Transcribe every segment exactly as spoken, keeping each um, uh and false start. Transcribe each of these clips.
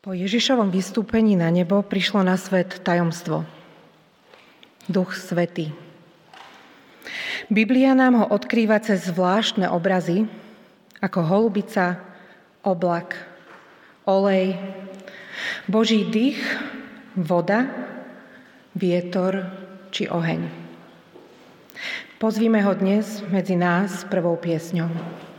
Po Ježišovom vystúpení na nebo prišlo na svet tajomstvo. Duch Svätý. Biblia nám ho odkrýva cez zvláštne obrazy, ako holubica, oblak, olej, Boží dých, voda, vietor či oheň. Pozvíme ho dnes medzi nás prvou piesňou.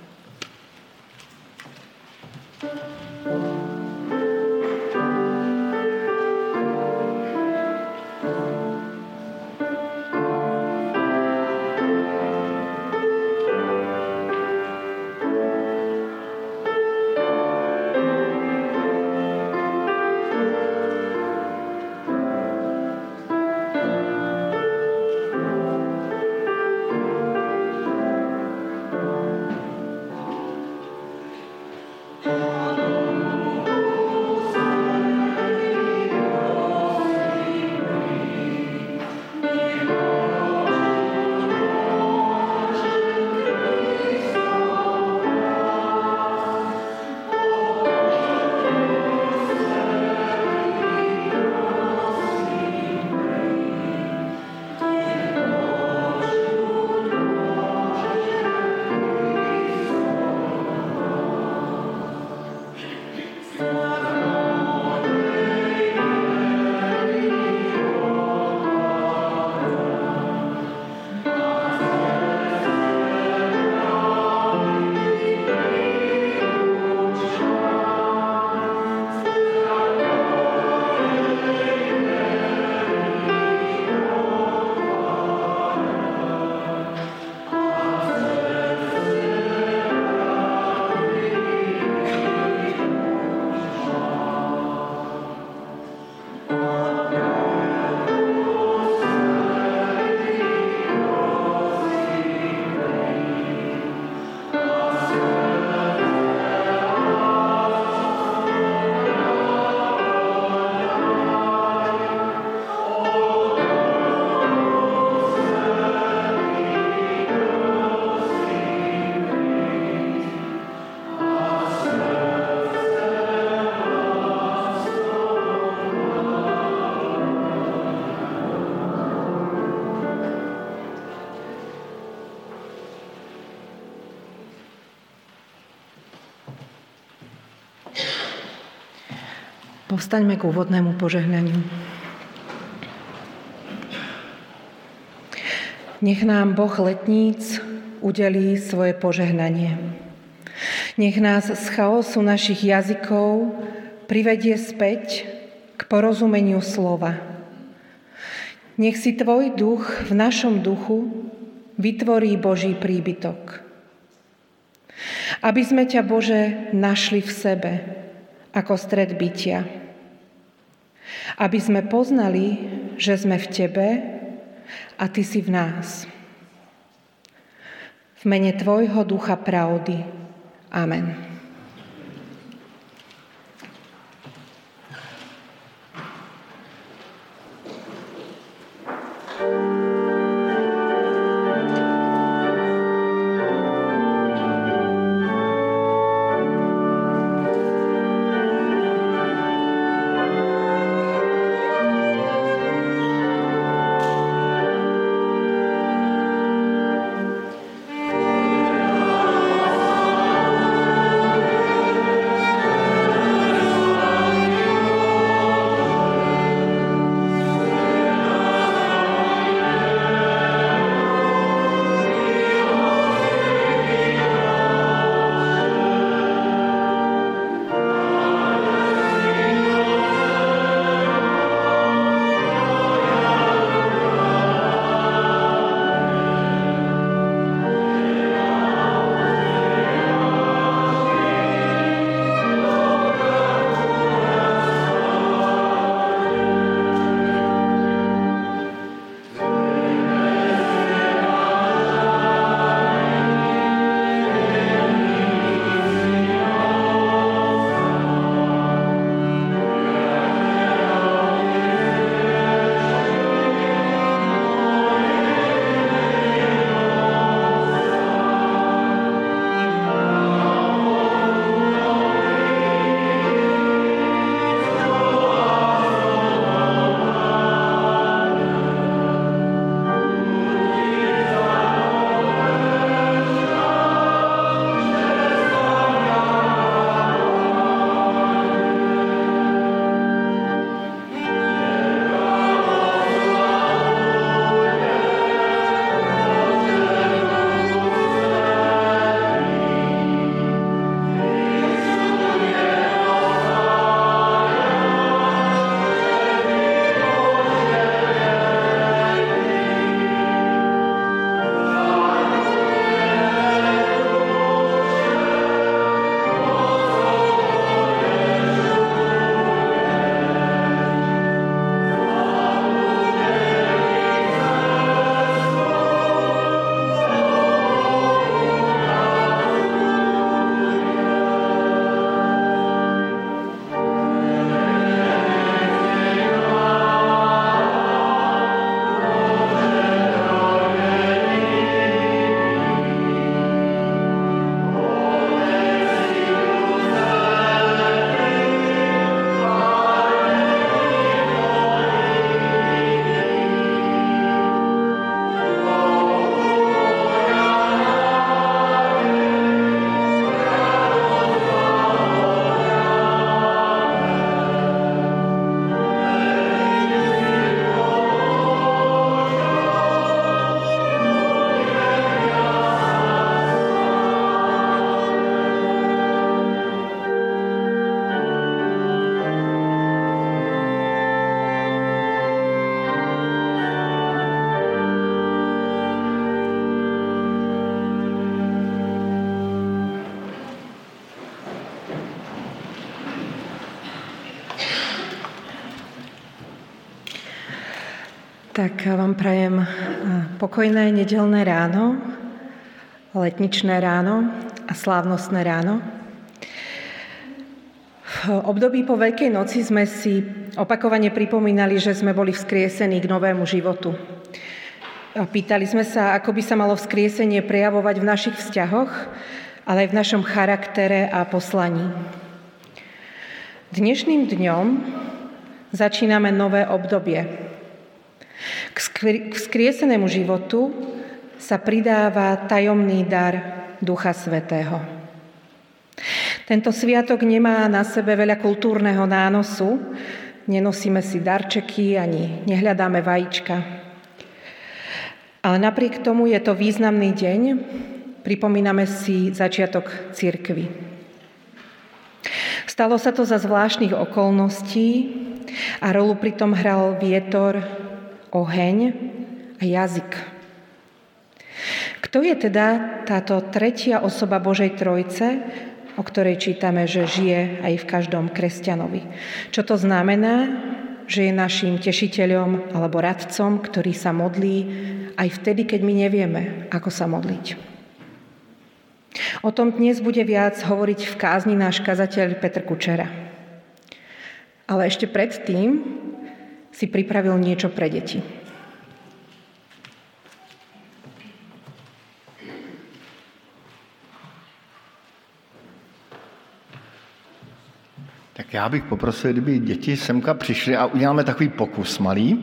Povstaňme k úvodnému požehnaniu. Nech nám Boh letníc udelí svoje požehnanie. Nech nás z chaosu našich jazykov privedie späť k porozumeniu slova. Nech si tvoj duch v našom duchu vytvorí Boží príbytok. Aby sme ťa, Bože, našli v sebe ako stred bytia. Aby sme poznali, že sme v Tebe a Ty si v nás. V mene Tvojho Ducha pravdy. Amen. Amen. Tak vám prajem pokojné nedeľné ráno, letničné ráno a slávnostné ráno. V období po Veľkej noci sme si opakovane pripomínali, že sme boli vzkriesení k novému životu. Pýtali sme sa, ako by sa malo vzkriesenie prejavovať v našich vzťahoch, ale aj v našom charaktere a poslaní. Dnešným dňom začíname nové obdobie. K vzkriesenému životu sa pridáva tajomný dar Ducha Svätého. Tento sviatok nemá na sebe veľa kultúrneho nánosu, nenosíme si darčeky ani nehľadáme vajíčka. Ale napriek tomu je to významný deň, pripomíname si začiatok cirkvi. Stalo sa to za zvláštnych okolností a rolu pritom hral vietor, oheň a jazyk. Kto je teda táto tretia osoba Božej Trojice, o ktorej čítame, že žije aj v každom kresťanovi? Čo to znamená? Že je naším tešiteľom alebo radcom, ktorý sa modlí aj vtedy, keď my nevieme, ako sa modliť. O tom dnes bude viac hovoriť v kázni náš kazateľ Petr Kučera. Ale ešte predtým si pripravil niečo pre deti. Tak já bych poprosil, kdyby děti semka přišly a uděláme takový pokus malý.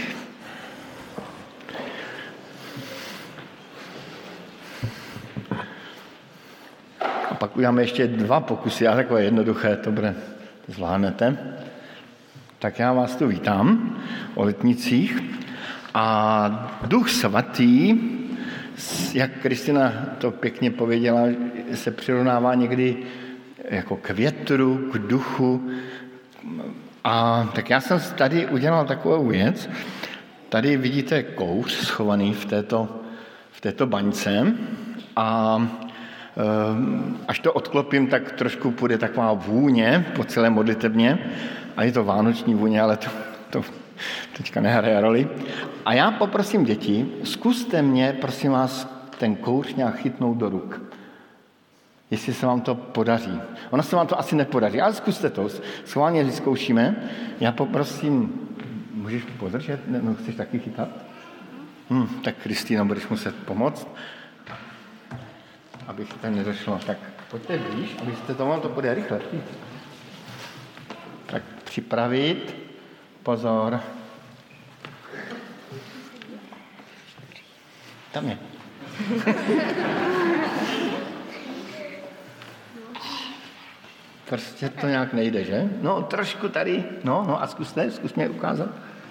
A pak uděláme ještě dva pokusy, a takové jednoduché, to bude, to zvládnete. Tak já vás tu vítám o letnicích a Duch Svatý, jak Kristina to pěkně pověděla, se přirovnává někdy jako k větru, k duchu. A tak já jsem tady udělal takovou věc. Tady vidíte kouř schovaný v této, v této baňce a až to odklopím, tak trošku půjde taková vůně po celé modlitebně. A je to vánoční vůně, ale to, to teďka nehraje roli. A já poprosím děti, zkuste mě, prosím vás, ten kouř nějak chytnout do ruk. Jestli se vám to podaří. Ono se vám to asi nepodaří, ale zkuste to. Schválně vyzkoušíme. Já poprosím, můžeš podržet? No, chceš taky chytat? Hm, tak Kristýna, budeš muset pomoct, abych to nedošlo. Tak pojďte blíž, abyste to vám to půjde rychle. Tak připravit. Pozor. Tam je. Prostě to nějak nejde, že? No, trošku tady. No, no a zkuste, zkus mě ukázat.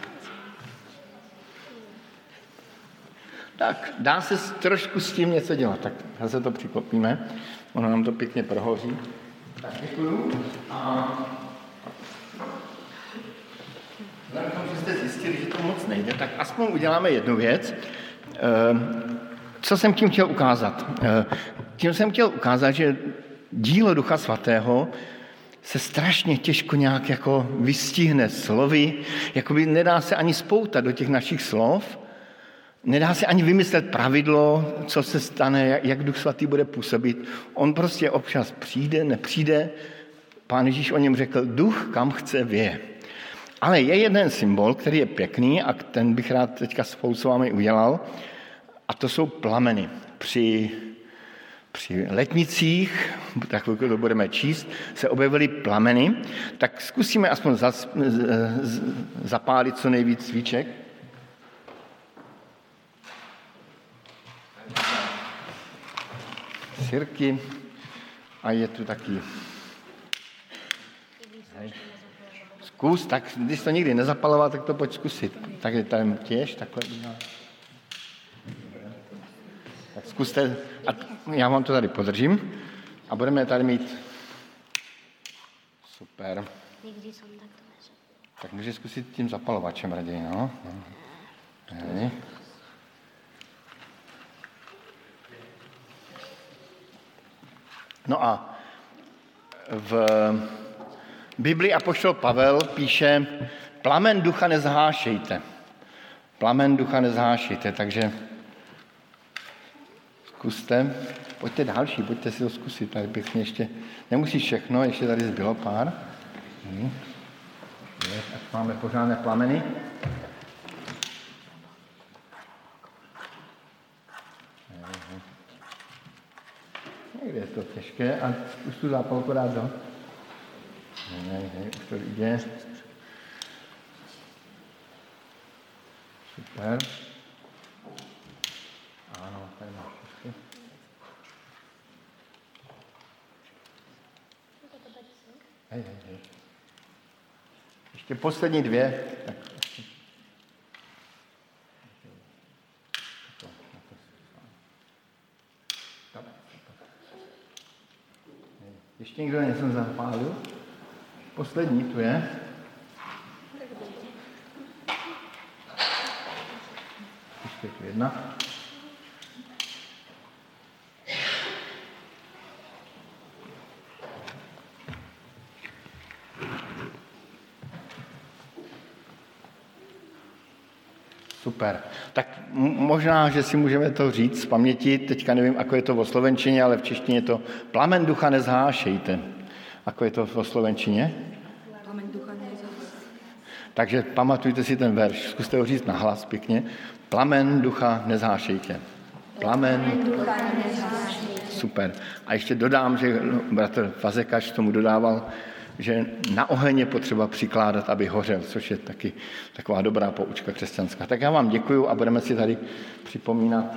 Tak, dá se trošku s tím něco dělat. Tak zase to přiklopíme. Ono nám to pěkně prohoří. Tak děkuju. A vzhledem k tomu, že jste zjistili, že to moc nejde, tak aspoň uděláme jednu věc. Co jsem tím chtěl ukázat? Tím jsem chtěl ukázat, že dílo Ducha Svatého se strašně těžko nějak jako vystihne slovy, jakoby nedá se ani spoutat do těch našich slov, nedá se ani vymyslet pravidlo, co se stane, jak Duch Svatý bude působit. On prostě občas přijde, nepřijde. Pán Ježíš o něm řekl, duch kam chce věje. Ale je jeden symbol, který je pěkný a ten bych rád teďka spolu s vámi udělal, a to jsou plameny. Při Při letnicích, tak to budeme číst, se objevily plameny, tak zkusíme aspoň zas, z, zapálit co nejvíc svíček. Sirky a je tu taky. Zkus, tak když to nikdy nezapaloval, tak to pojď zkusit. Tak je tam těž, takhle. Tak zkuste, a já vám to tady podržím a budeme tady mít. Super. Nikdy jsem takto neřekl. Tak můžeš zkusit tím zapalovačem raději, no. Hej. No a v Biblii apoštol Pavel píše, plamen ducha nezhášejte. Plamen ducha nezhášejte, takže zkuste, pojďte další, pojďte si to zkusit, tady pěkně ještě, nemusíš všechno, ještě tady zbylo pár. Hmm. Ať máme pořádné plameny. Někde je to těžké a už tu zápalku dát do. Ne, ne, už to jde. Super. Ano, tady máš všechny. Hej, hej, hej. Ještě poslední dvě. Tak. Ještě někdo něco zapálil? Poslední tu je. Ještě tu jedna. Super. Tak možná, že si můžeme to říct z paměti, teďka nevím, ako je to vo slovenčině, ale v češtině je to plamen ducha nezhášejte. Ako je to vo slovenčině? Plamen ducha nezhášejte. Takže pamatujte si ten verš, zkuste ho říct nahlas pěkně. Plamen ducha nezhášejte. Plamen, Plamen ducha nezhášejte. Super. A ještě dodám, že bratr Fazekaš tomu dodával, že na oheň je potřeba přikládat, aby hořel, což je taky taková dobrá poučka křesťanská. Tak já vám děkuju a budeme si tady připomínat,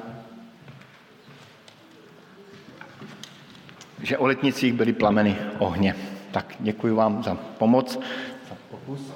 že o letnicích byly plameny ohně. Tak děkuji vám za pomoc, za pokus.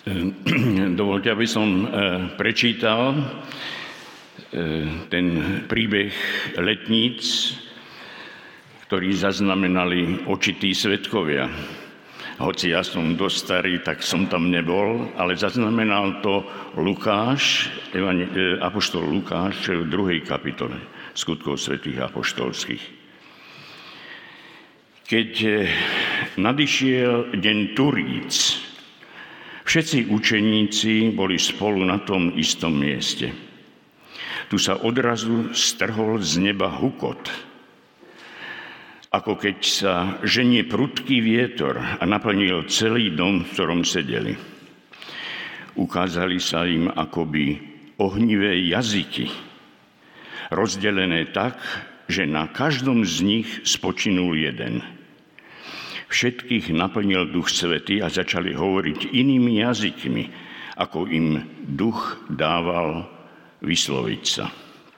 Dovoľte, aby som prečítal ten príbeh letníc, ktorý zaznamenali očití svedkovia. Hoci ja som dosť starý, tak som tam nebol, ale zaznamenal to Lukáš, apoštol Lukáš v druhej kapitole Skutkov svätých apoštolských. Keď nadišiel deň Turíc, všetci učeníci boli spolu na tom istom mieste. Tu sa odrazu strhol z neba hukot, ako keď sa ženie prudký vietor a naplnil celý dom, v ktorom sedeli. Ukázali sa im akoby ohnivé jazyky, rozdelené tak, že na každom z nich spočinul jeden. Všetkých naplnil Duch Svätý a začali hovoriť inými jazykmi, ako im Duch dával vysloviť sa.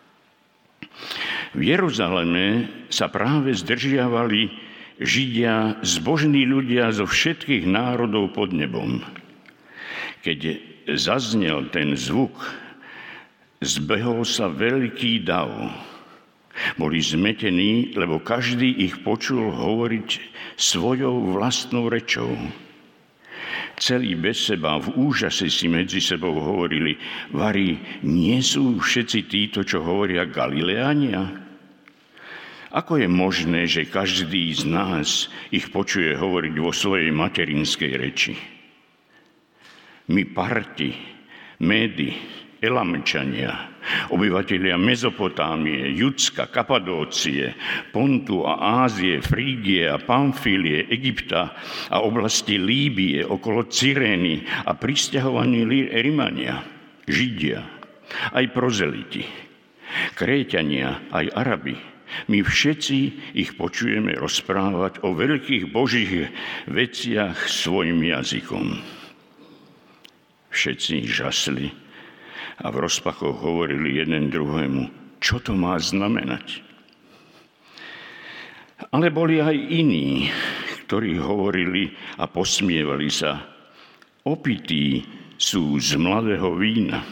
V Jeruzaleme sa práve zdržiavali Židia, zbožní ľudia zo všetkých národov pod nebom. Keď zaznel ten zvuk, zbehol sa veľký dav. Boli zmetení, lebo každý ich počul hovoriť svojou vlastnou rečou. Celí bez seba v úžase si medzi sebou hovorili: vari, nie sú všetci títo, čo hovoria Galileania? Ako je možné, že každý z nás ich počuje hovoriť vo svojej materinskej reči? My Parti, Médi, Elamčania, obyvatelia Mezopotámie, Judska, Kapadócie, Pontu a Ázie, Frígie a Pamfílie, Egypta a oblasti Líbie okolo Cyrény a prisťahovaní Rimania, Židia, aj prozeliti, Kréťania, aj Arabi. My všetci ich počujeme rozprávať o veľkých božích veciach svojim jazykom. Všetci žasli a v rozpakoch hovorili jeden druhému: čo to má znamenať? Ale boli aj iní, ktorí hovorili a posmievali sa: opití sú z mladého vína.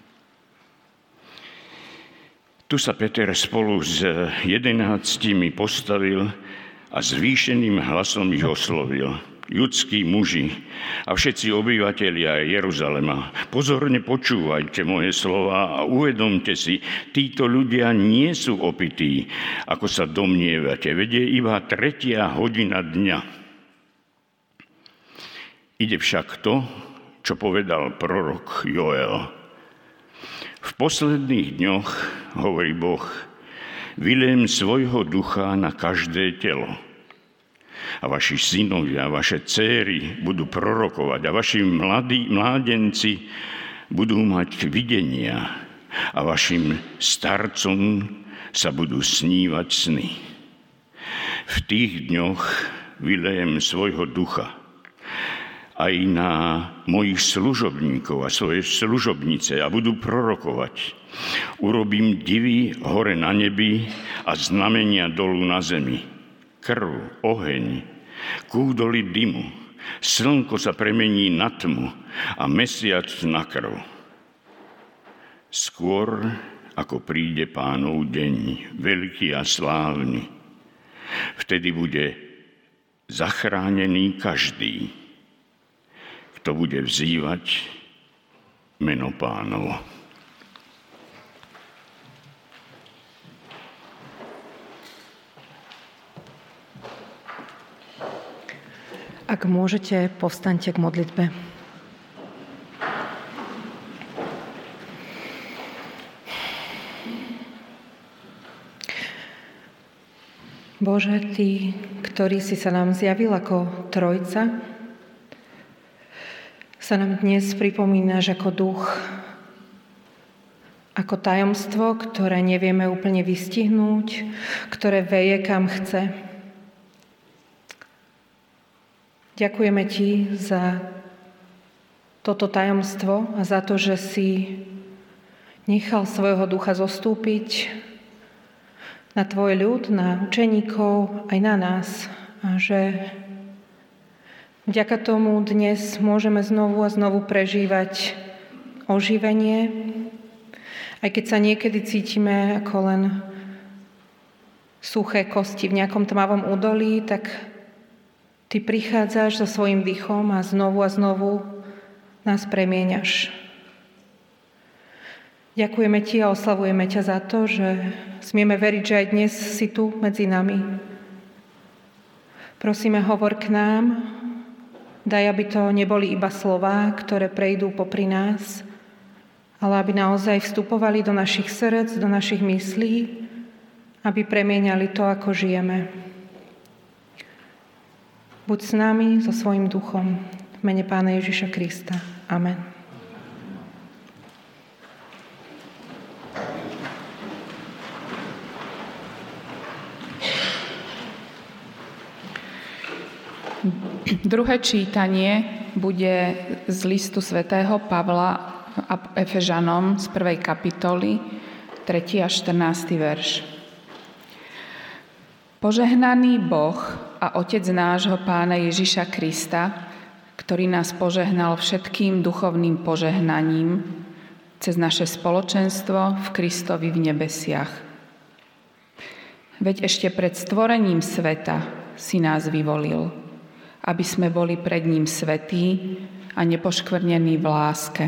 Tu sa Peter spolu s jedenáctimi postavil a zvýšeným hlasom ich oslovil: judskí muži a všetci obyvatelia Jeruzalema, pozorne počúvajte moje slova a uvedomte si, títo ľudia nie sú opití, ako sa domnievate, veď je iba tretia hodina dňa. Ide však to, čo povedal prorok Joel. V posledných dňoch, hovorí Boh, vyliem svojho ducha na každé telo. A vaši synovia, vaše céry budú prorokovať a vaši mladí, mládenci budú mať videnia a vašim starcom sa budú snívať sny. V tých dňoch vylejem svojho ducha aj na mojich služobníkov a svoje služobnice a budú prorokovať. Urobím divy hore na nebi a znamenia dolu na zemi. Krv, oheň, kúdoly dymu, slnko sa premení na tmu a mesiac na krv. Skôr ako príde Pánov deň, veľký a slávny, vtedy bude zachránený každý, kto bude vzývať meno Pánovo. Ak môžete, povstaňte k modlitbe. Bože, Ty, ktorý si sa nám zjavil ako Trojca, sa nám dnes pripomínaš ako duch, ako tajomstvo, ktoré nevieme úplne vystihnúť, ktoré veje kam chce. Ďakujeme Ti za toto tajomstvo a za to, že si nechal svojho ducha zostúpiť na Tvoj ľud, na učeníkov, aj na nás. A že Vďaka tomu dnes môžeme znovu a znovu prežívať oživenie, aj keď sa niekedy cítime ako len suché kosti v nejakom tmavom údolí, tak ty prichádzaš so svojím dýchom a znovu a znovu nás premieňaš. Ďakujeme ti a oslavujeme ťa za to, že smieme veriť, že aj dnes si tu medzi nami. Prosíme, hovor k nám, daj, aby to neboli iba slová, ktoré prejdú popri nás, ale aby naozaj vstupovali do našich srdc, do našich myslí, aby premieňali to, ako žijeme. Buď s nami, so svojím duchom, v mene Pána Ježiša Krista. Amen. Druhé čítanie bude z listu svätého Pavla Efežanom z prvej kapitoly, tretí až štrnásty verš. Požehnaný Boh a Otec nášho Pána Ježiša Krista, ktorý nás požehnal všetkým duchovným požehnaním cez naše spoločenstvo v Kristovi v nebesiach. Veď ešte pred stvorením sveta si nás vyvolil, aby sme boli pred ním svätí a nepoškvrnení v láske.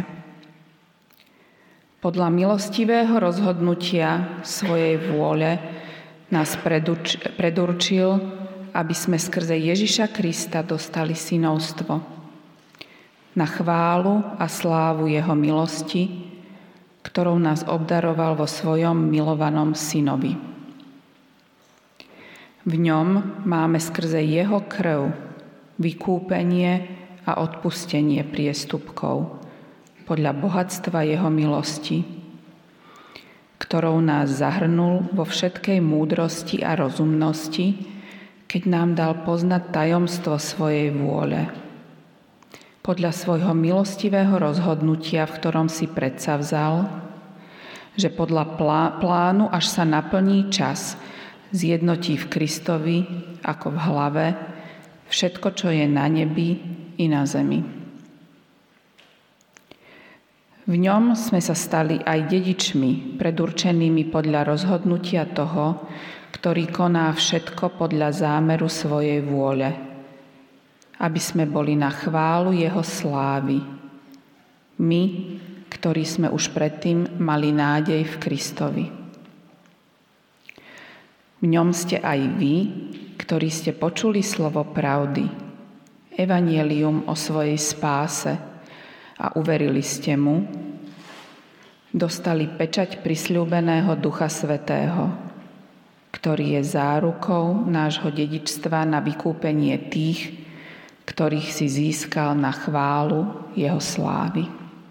Podľa milostivého rozhodnutia svojej vôle nás predurč- predurčil, aby sme skrze Ježiša Krista dostali synovstvo. Na chválu a slávu jeho milosti, ktorou nás obdaroval vo svojom milovanom synovi. V ňom máme skrze jeho krv vykúpenie a odpustenie priestupkov podľa bohatstva jeho milosti, ktorou nás zahrnul vo všetkej múdrosti a rozumnosti, keď nám dal poznať tajomstvo svojej vôle. Podľa svojho milostivého rozhodnutia, v ktorom si predsavzal, že podľa plánu, až sa naplní čas, zjednotí v Kristovi ako v hlave všetko, čo je na nebi i na zemi. V ňom sme sa stali aj dedičmi, predurčenými podľa rozhodnutia toho, ktorý koná všetko podľa zámeru svojej vôle, aby sme boli na chválu jeho slávy. My, ktorí sme už predtým mali nádej v Kristovi. V ňom ste aj vy, ktorí ste počuli slovo pravdy, evanjelium o svojej spáse a uverili ste mu, dostali pečať prisľúbeného Ducha Svätého, ktorý je zárukou nášho dedičstva na vykúpenie tých, ktorých si získal na chválu jeho slávy.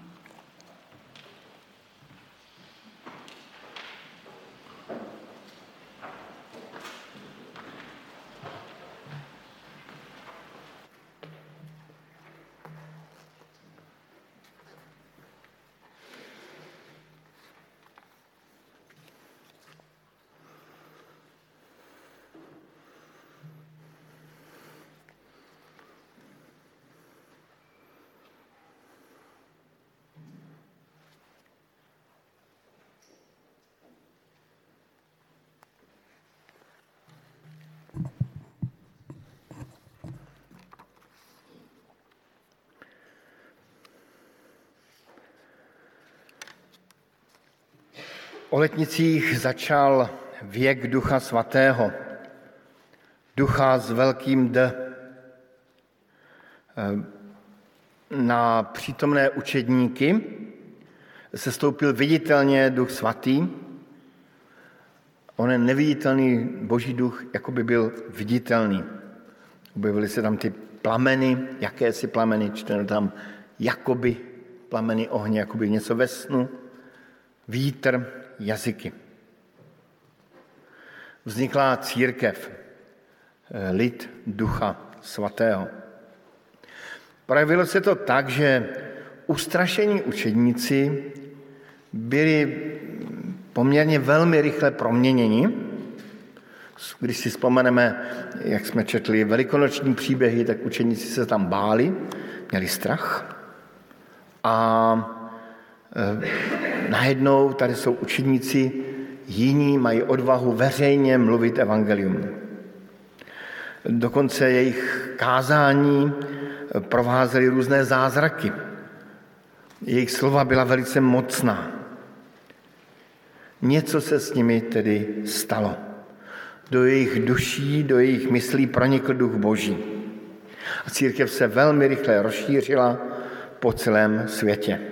O letnicích začal věk Ducha Svatého, Ducha s velkým D. Na přítomné učedníky se stoupil viditelně Duch Svatý. On je neviditelný Boží duch, jako by byl viditelný. Objevily se tam ty plameny, jakési plameny, čteno tam jakoby plameny ohně, jakoby něco ve snu, vítr, jazyky. Vznikla církev, lid Ducha Svatého. Projevilo se to tak, že ustrašení učedníci byli poměrně velmi rychle proměněni, Když si vzpomeneme, jak jsme četli velikonoční příběhy, tak učeníci se tam báli, měli strach. A e, najednou tady jsou učeníci, jiní mají odvahu veřejně mluvit evangelium. Dokonce jejich kázání provázely různé zázraky. Jejich slova byla velice mocná. Něco se s nimi tedy stalo. Do jejich duší, do jejich myslí pronikl duch Boží. A církev se velmi rychle rozšířila po celém světě.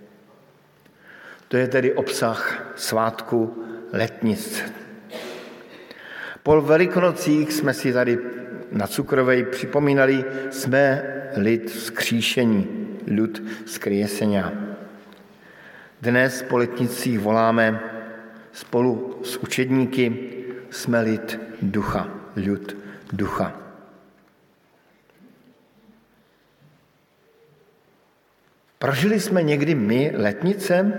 To je tedy obsah svátku Letnic. Po Velikonocích jsme si tady na Cukrovej připomínali, jsme lid vzkříšení, lid vzkriesenia. Dnes po Letnicích voláme spolu s učedníky, jsme lid ducha, lid ducha. Prožili jsme někdy my letnice?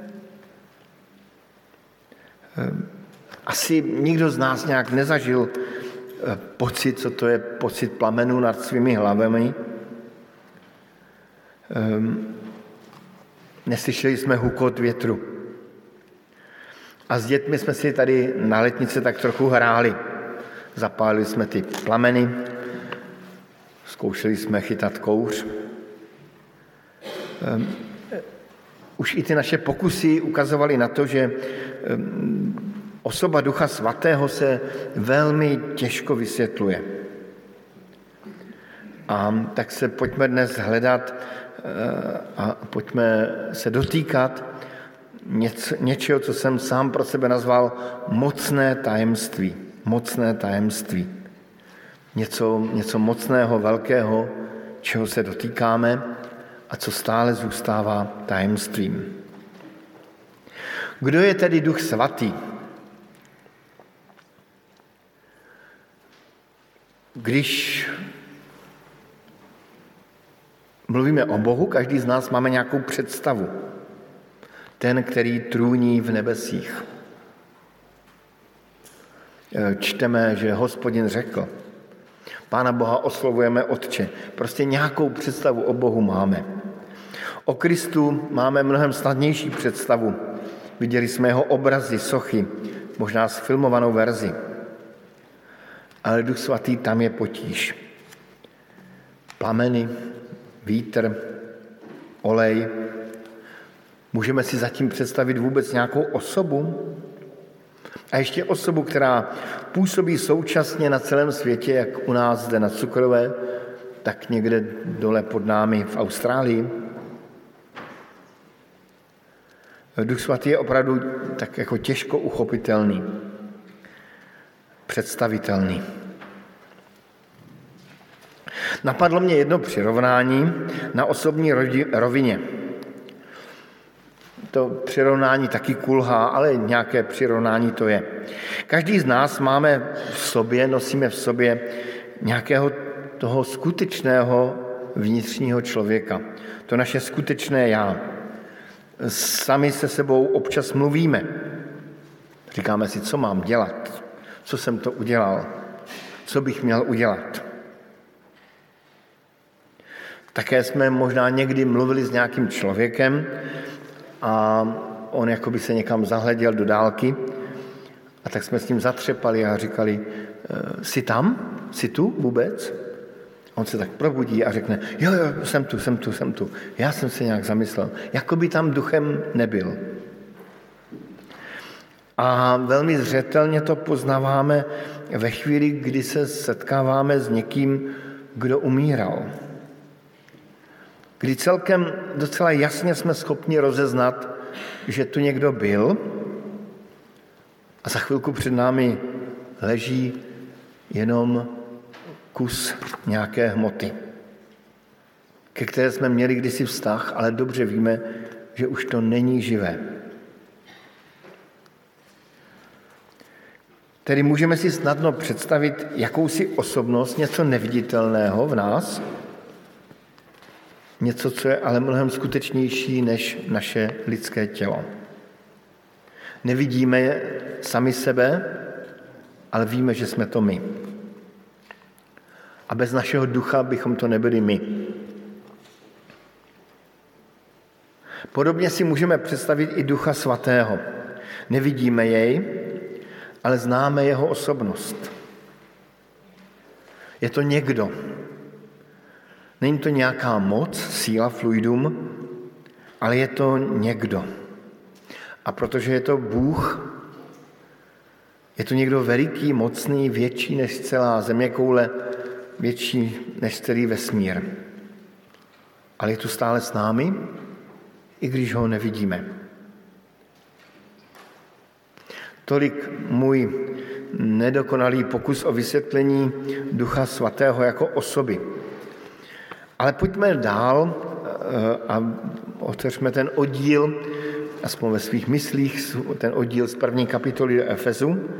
Asi nikdo z nás nějak nezažil pocit, co to je pocit plamenů nad svými hlavami. Neslyšeli jsme hukot větru. A s dětmi jsme si tady na letnice tak trochu hráli. Zapálili jsme ty plameny, zkoušeli jsme chytat kouř. Um, už i ty naše pokusy ukazovaly na to, že um, osoba Ducha Svatého se velmi těžko vysvětluje. A tak se pojďme dnes hledat uh, a pojďme se dotýkat něco, něčeho, co jsem sám pro sebe nazval mocné tajemství. Mocné tajemství. Něco, něco mocného, velkého, čeho se dotýkáme a co stále zůstává tajemstvím. Kdo je tedy Duch Svatý? Když mluvíme o Bohu, každý z nás máme nějakou představu. Ten, který trůní v nebesích. Čteme, že Hospodin řekl. Pána Boha oslovujeme Otče. Prostě nějakou představu o Bohu máme. O Kristu máme mnohem snadnější představu. Viděli jsme jeho obrazy, sochy, možná sfilmovanou verzi. Ale Duch Svatý tam je potíž. Plameny, vítr, olej. Můžeme si zatím představit vůbec nějakou osobu? A ještě osobu, která působí současně na celém světě, jak u nás zde na Cukrové, tak někde dole pod námi v Austrálii. Duch Svatý je opravdu tak jako těžko uchopitelný, představitelný. Napadlo mě jedno přirovnání na osobní rovině. To přirovnání taky kulhá, ale nějaké přirovnání to je. Každý z nás máme v sobě, nosíme v sobě nějakého toho skutečného vnitřního člověka. To naše skutečné já. Sami se sebou občas mluvíme. Říkáme si, co mám dělat, co jsem to udělal, co bych měl udělat. Také jsme možná někdy mluvili s nějakým člověkem a on jakoby se někam zahleděl do dálky a tak jsme s ním zatřepali a říkali, jsi tam? Jsi tu vůbec? On se tak probudí a řekne, jo, jo, jsem tu, jsem tu, jsem tu. Já jsem se nějak zamyslel, jako by tam duchem nebyl. A velmi zřetelně to poznáváme ve chvíli, kdy se setkáváme s někým, kdo umíral. Kdy celkem docela jasně jsme schopni rozeznat, že tu někdo byl a za chvilku před námi leží jenom kus nějaké hmoty, ke které jsme měli kdysi vztah, ale dobře víme, že už to není živé. Tedy můžeme si snadno představit jakousi osobnost, něco neviditelného v nás, něco, co je ale mnohem skutečnější než naše lidské tělo. Nevidíme sami sebe, ale víme, že jsme to my. A bez našeho ducha bychom to nebyli my. Podobně si můžeme představit i Ducha Svatého. Nevidíme jej, ale známe jeho osobnost. Je to někdo. Není to nějaká moc, síla, fluidum, ale je to někdo. A protože je to Bůh, je to někdo veliký, mocný, větší než celá zeměkoule, větší než celý vesmír. Ale je tu stále s námi, i když ho nevidíme. Tolik můj nedokonalý pokus o vysvětlení Ducha Svatého jako osoby. Ale pojďme dál a otevřme ten oddíl, aspoň ve svých myslích, ten oddíl z první kapitoly do Efezu,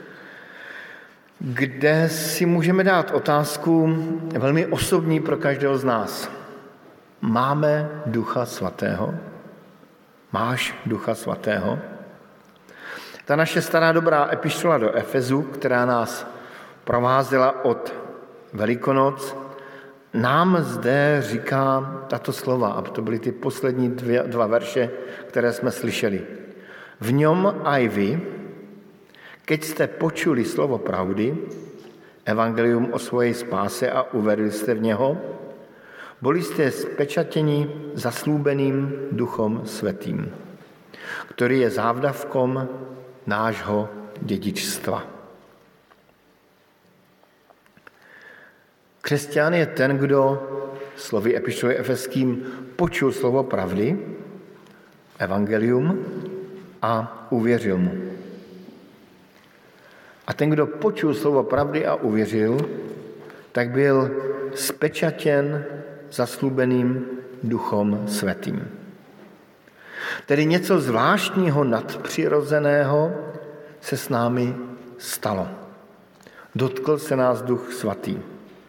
kde si můžeme dát otázku velmi osobní pro každého z nás. Máme Ducha Svatého? Máš Ducha Svatého? Ta naše stará dobrá epištola do Efezu, která nás provázela od Velikonoc, nám zde říká tato slova, a to byly ty poslední dvě, dva verše, které jsme slyšeli. V něm aj vy, keď jste počuli slovo pravdy, evangelium o svojej spáse a uverili jste v něho, byli jste spečatěni zaslúbeným Duchom Svätým, který je závdavkom nášho dědičstva. Křesťan je ten, kdo, slovy epištoly Efeským, počul slovo pravdy, evangelium, a uvěřil mu. A ten, kdo počul slovo pravdy a uvěřil, tak byl spečatěn zaslúbeným Duchom Svätým. Tedy něco zvláštního, nadpřirozeného se s námi stalo. Dotkl se nás Duch Svatý.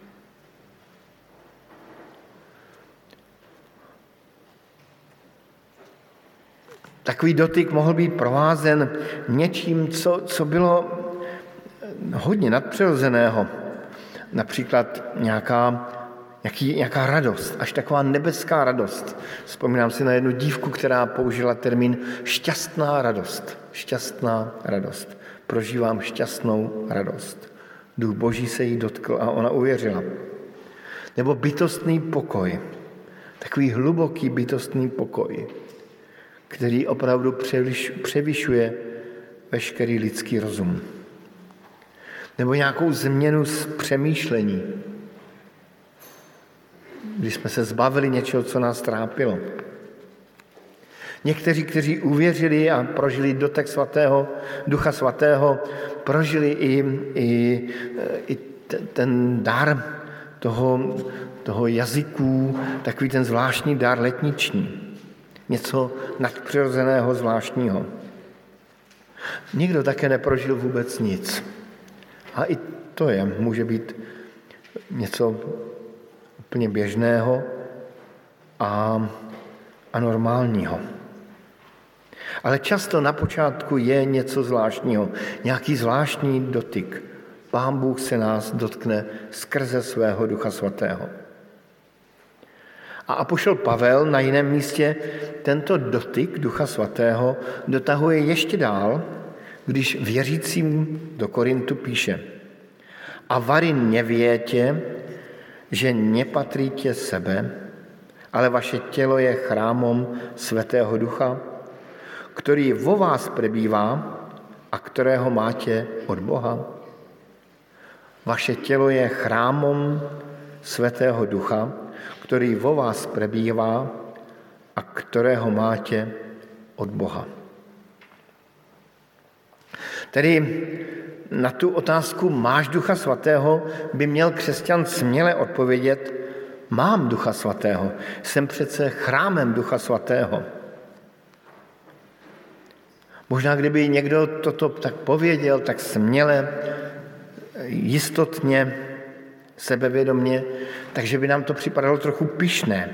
Takový dotyk mohl být provázen něčím, co, co bylo hodně nadpřirozeného. Například nějaká, nějaký, nějaká radost, až taková nebeská radost. Vzpomínám si na jednu dívku, která použila termín šťastná radost. Šťastná radost. Prožívám šťastnou radost. Duch Boží se jí dotkl a ona uvěřila. Nebo bytostný pokoj. Takový hluboký bytostný pokoj, který opravdu převyšuje veškerý lidský rozum. Nebo nějakou změnu z přemýšlení, když jsme se zbavili něčeho, co nás trápilo. Někteří, kteří uvěřili a prožili dotek svatého, Ducha Svatého, prožili i, i, i ten dar toho, toho jazyků, takový ten zvláštní dar letniční. Něco nadpřirozeného, zvláštního. Nikdo také neprožil vůbec nic. A i to je, může být něco úplně běžného a, a normálního. Ale často na počátku je něco zvláštního, nějaký zvláštní dotyk. Pán Bůh se nás dotkne skrze svého Ducha Svatého. A apoštol Pavel na jiném místě tento dotyk Ducha Svatého dotahuje ještě dál, když věřícím do Korintu píše: A vary nevětě, že nepatríte sebe, ale vaše tělo je chrámom Svätého Ducha, který vo vás prebývá a kterého máte od Boha. Vaše tělo je chrámom Svätého Ducha, který vo vás prebývá a kterého máte od Boha. Tedy na tu otázku máš Ducha Svatého by měl křesťan směle odpovědět: mám Ducha Svatého, jsem přece chrámem Ducha Svatého. Možná kdyby někdo toto tak pověděl, tak směle, jistotně, sebevědomně, takže by nám to připadalo trochu pyšné.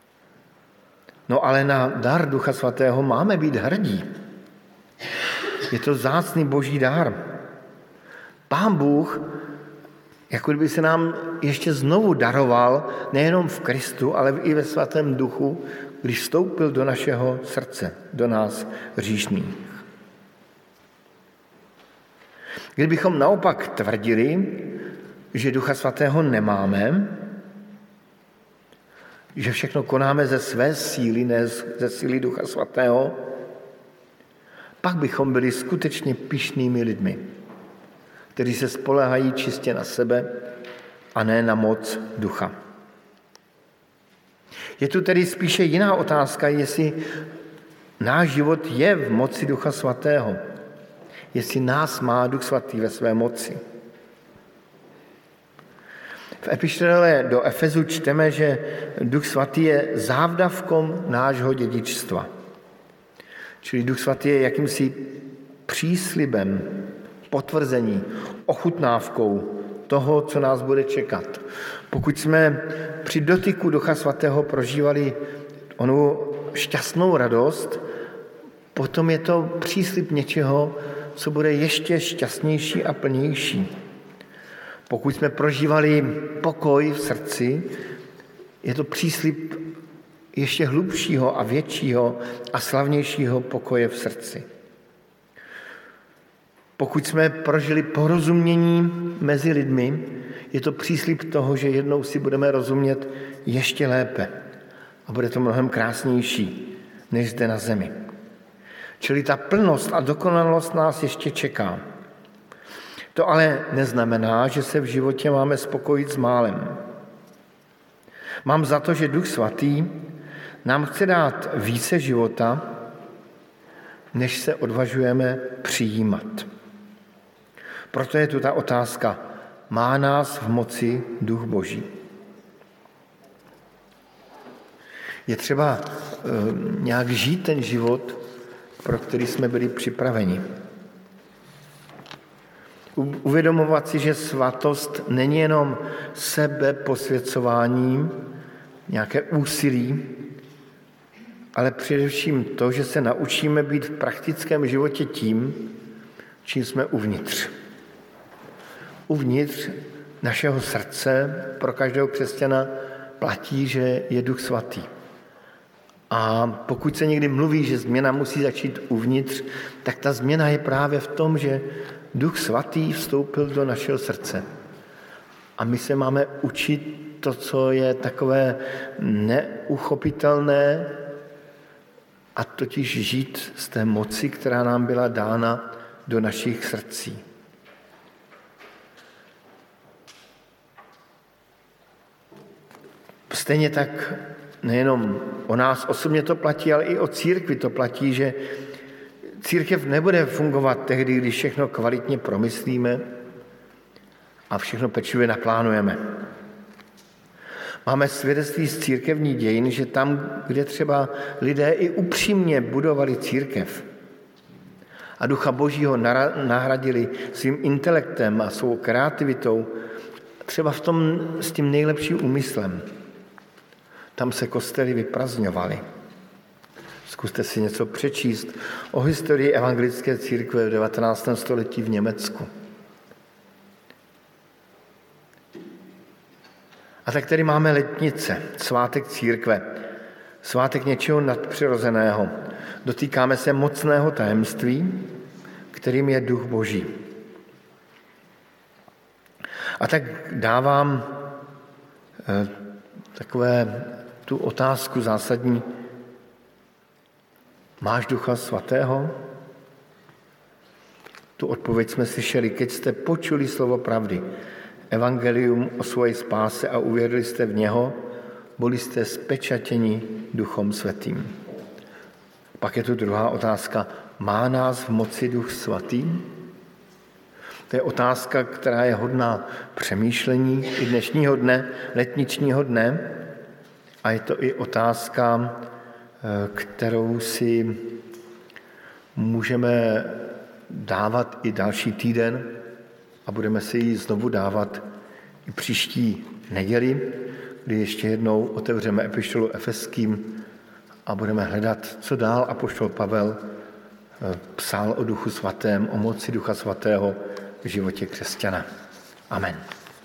No ale na dar Ducha Svatého máme být hrdí. Je to vzácný boží dár. Pán Bůh, jako kdyby se nám ještě znovu daroval, nejenom v Kristu, ale i ve Svatém Duchu, když vstoupil do našeho srdce, do nás hříšných. Kdybychom naopak tvrdili, že Ducha Svatého nemáme, že všechno konáme ze své síly, ne ze síly Ducha Svatého, pak bychom byli skutečně pyšnými lidmi, kteří se spoléhají čistě na sebe a ne na moc Ducha. Je tu tedy spíše jiná otázka, jestli náš život je v moci Ducha Svatého, jestli nás má Duch Svatý ve své moci. V epištole do Efezu čteme, že Duch Svatý je závdavkou nášho dědičstva. Čili Duch Svatý je jakýmsi příslibem, potvrzení, ochutnávkou toho, co nás bude čekat. Pokud jsme při dotyku Ducha Svatého prožívali onu šťastnou radost, potom je to příslib něčeho, co bude ještě šťastnější a plnější. Pokud jsme prožívali pokoj v srdci, je to příslib ještě hlubšího a většího a slavnějšího pokoje v srdci. Pokud jsme prožili porozumění mezi lidmi, je to příslib toho, že jednou si budeme rozumět ještě lépe a bude to mnohem krásnější, než zde na zemi. Čili ta plnost a dokonalost nás ještě čeká. To ale neznamená, že se v životě máme spokojit s málem. Mám za to, že Duch Svatý nám chce dát více života, než se odvažujeme přijímat. Proto je tu ta otázka, má nás v moci Duch Boží? Je třeba e, nějak žít ten život, pro který jsme byli připraveni. Uvědomovat si, že svatost není jenom sebeposvěcováním, nějaké úsilí, ale především to, že se naučíme být v praktickém životě tím, čím jsme uvnitř. Uvnitř našeho srdce pro každého křesťana platí, že je Duch Svatý. A pokud se někdy mluví, že změna musí začít uvnitř, tak ta změna je právě v tom, že Duch Svatý vstoupil do našeho srdce. A my se máme učit to, co je takové neuchopitelné, a totiž žít z té moci, která nám byla dána do našich srdcí. Stejně tak nejenom o nás osobně to platí, ale i o církvi to platí, že církev nebude fungovat tehdy, když všechno kvalitně promyslíme a všechno pečlivě naplánujeme. Máme svědectví z církevní dějin, že tam, kde třeba lidé i upřímně budovali církev a Ducha Božího nahradili svým intelektem a svou kreativitou, třeba v tom s tím nejlepším úmyslem, tam se kostely vyprazňovaly. Zkuste si něco přečíst o historii evangelické církve v devatenáctém století v Německu. A tak tady máme letnice, svátek církve, svátek něčeho nadpřirozeného. Dotýkáme se mocného tajemství, kterým je Duch Boží. A tak dávám eh, takové tu otázku zásadní. Máš Ducha Svatého? Tu odpověď jsme slyšeli, keď jste počuli slovo pravdy, evangelium o svojej spáse a uvěřili jste v něho, byli jste spečatěni Duchom Svatým. Pak je tu druhá otázka. Má nás v moci Duch Svatý? To je otázka, která je hodná přemýšlení i dnešního dne, letničního dne. A je to i otázka, kterou si můžeme dávat i další týden a budeme si ji znovu dávat i příští neděli, kdy ještě jednou otevřeme epištolu Efeským a budeme hledat, co dál apoštol Pavel psal o Duchu Svatém, o moci Ducha Svatého v životě křesťana. Amen.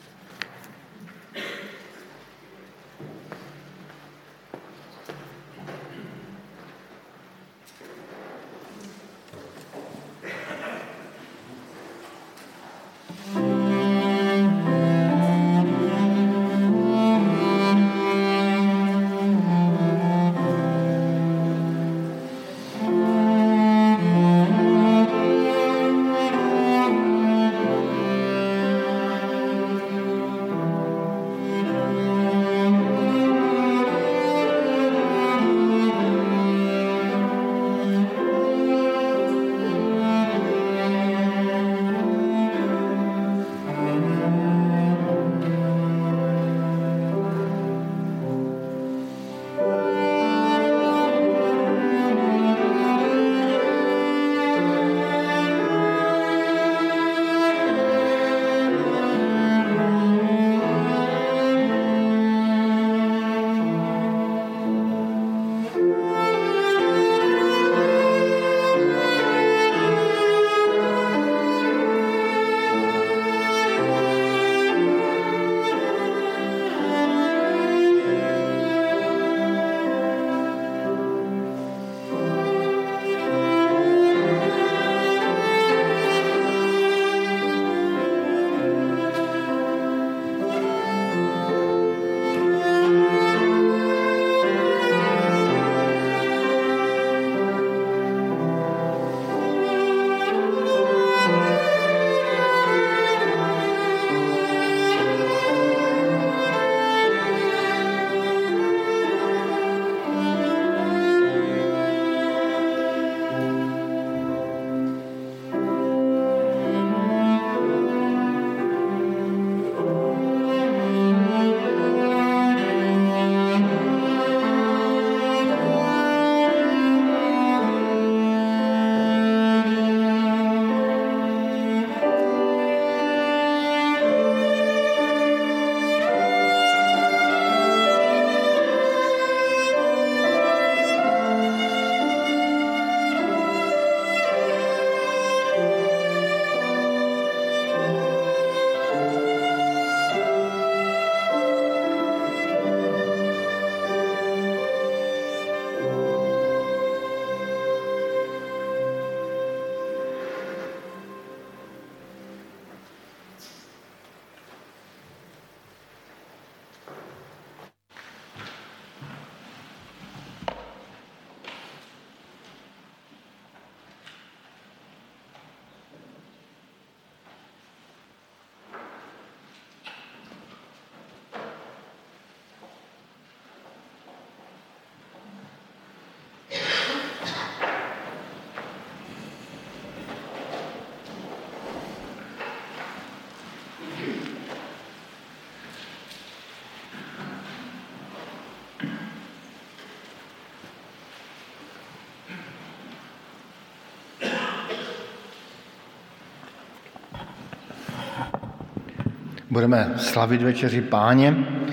Budeme slavit večeři Páně.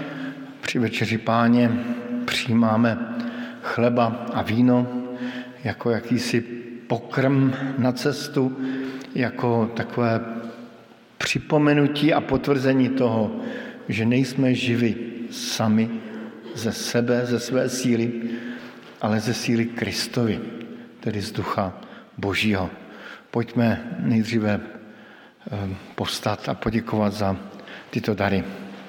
Při večeři Páně přijímáme chleba a víno jako jakýsi pokrm na cestu, jako takové připomenutí a potvrzení toho, že nejsme živi sami ze sebe, ze své síly, ale ze síly Kristovy, tedy z Ducha Božího. Pojďme nejdříve povstat a poděkovat za tyto dary.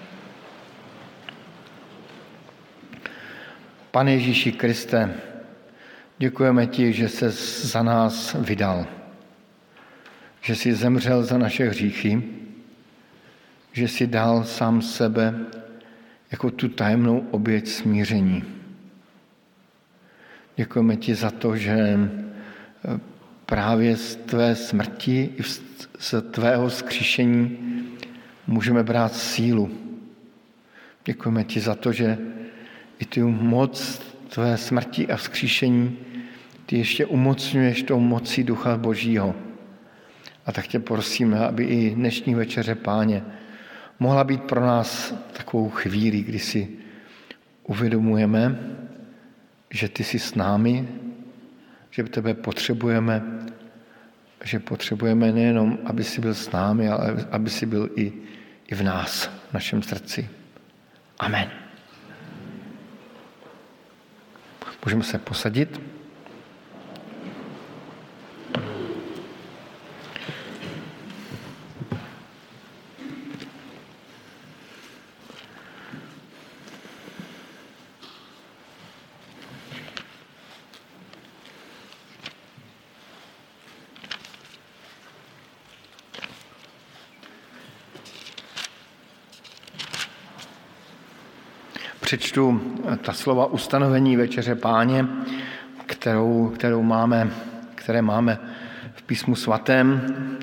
Pane Ježíši Kriste, děkujeme ti, že se za nás vydal, že jsi zemřel za naše hříchy, že jsi dal sám sebe jako tu tajemnou oběť smíření. Děkujeme ti za to, že právě z tvé smrti i z tvého vzkříšení můžeme brát sílu. Děkujeme ti za to, že i tu moc tvé smrti a vzkříšení ty ještě umocňuješ tou mocí Ducha Božího. A tak tě prosíme, aby i dnešní večeře Páně mohla být pro nás takovou chvíli, kdy si uvědomujeme, že ty jsi s námi že tebe potřebujeme, že potřebujeme nejenom, aby jsi byl s námi, ale aby jsi byl i, i v nás, v našem srdci. Amen. Můžeme se posadit. Přečtu ta slova ustanovení Večeře Páně, kterou, kterou máme, které máme v písmu svatém.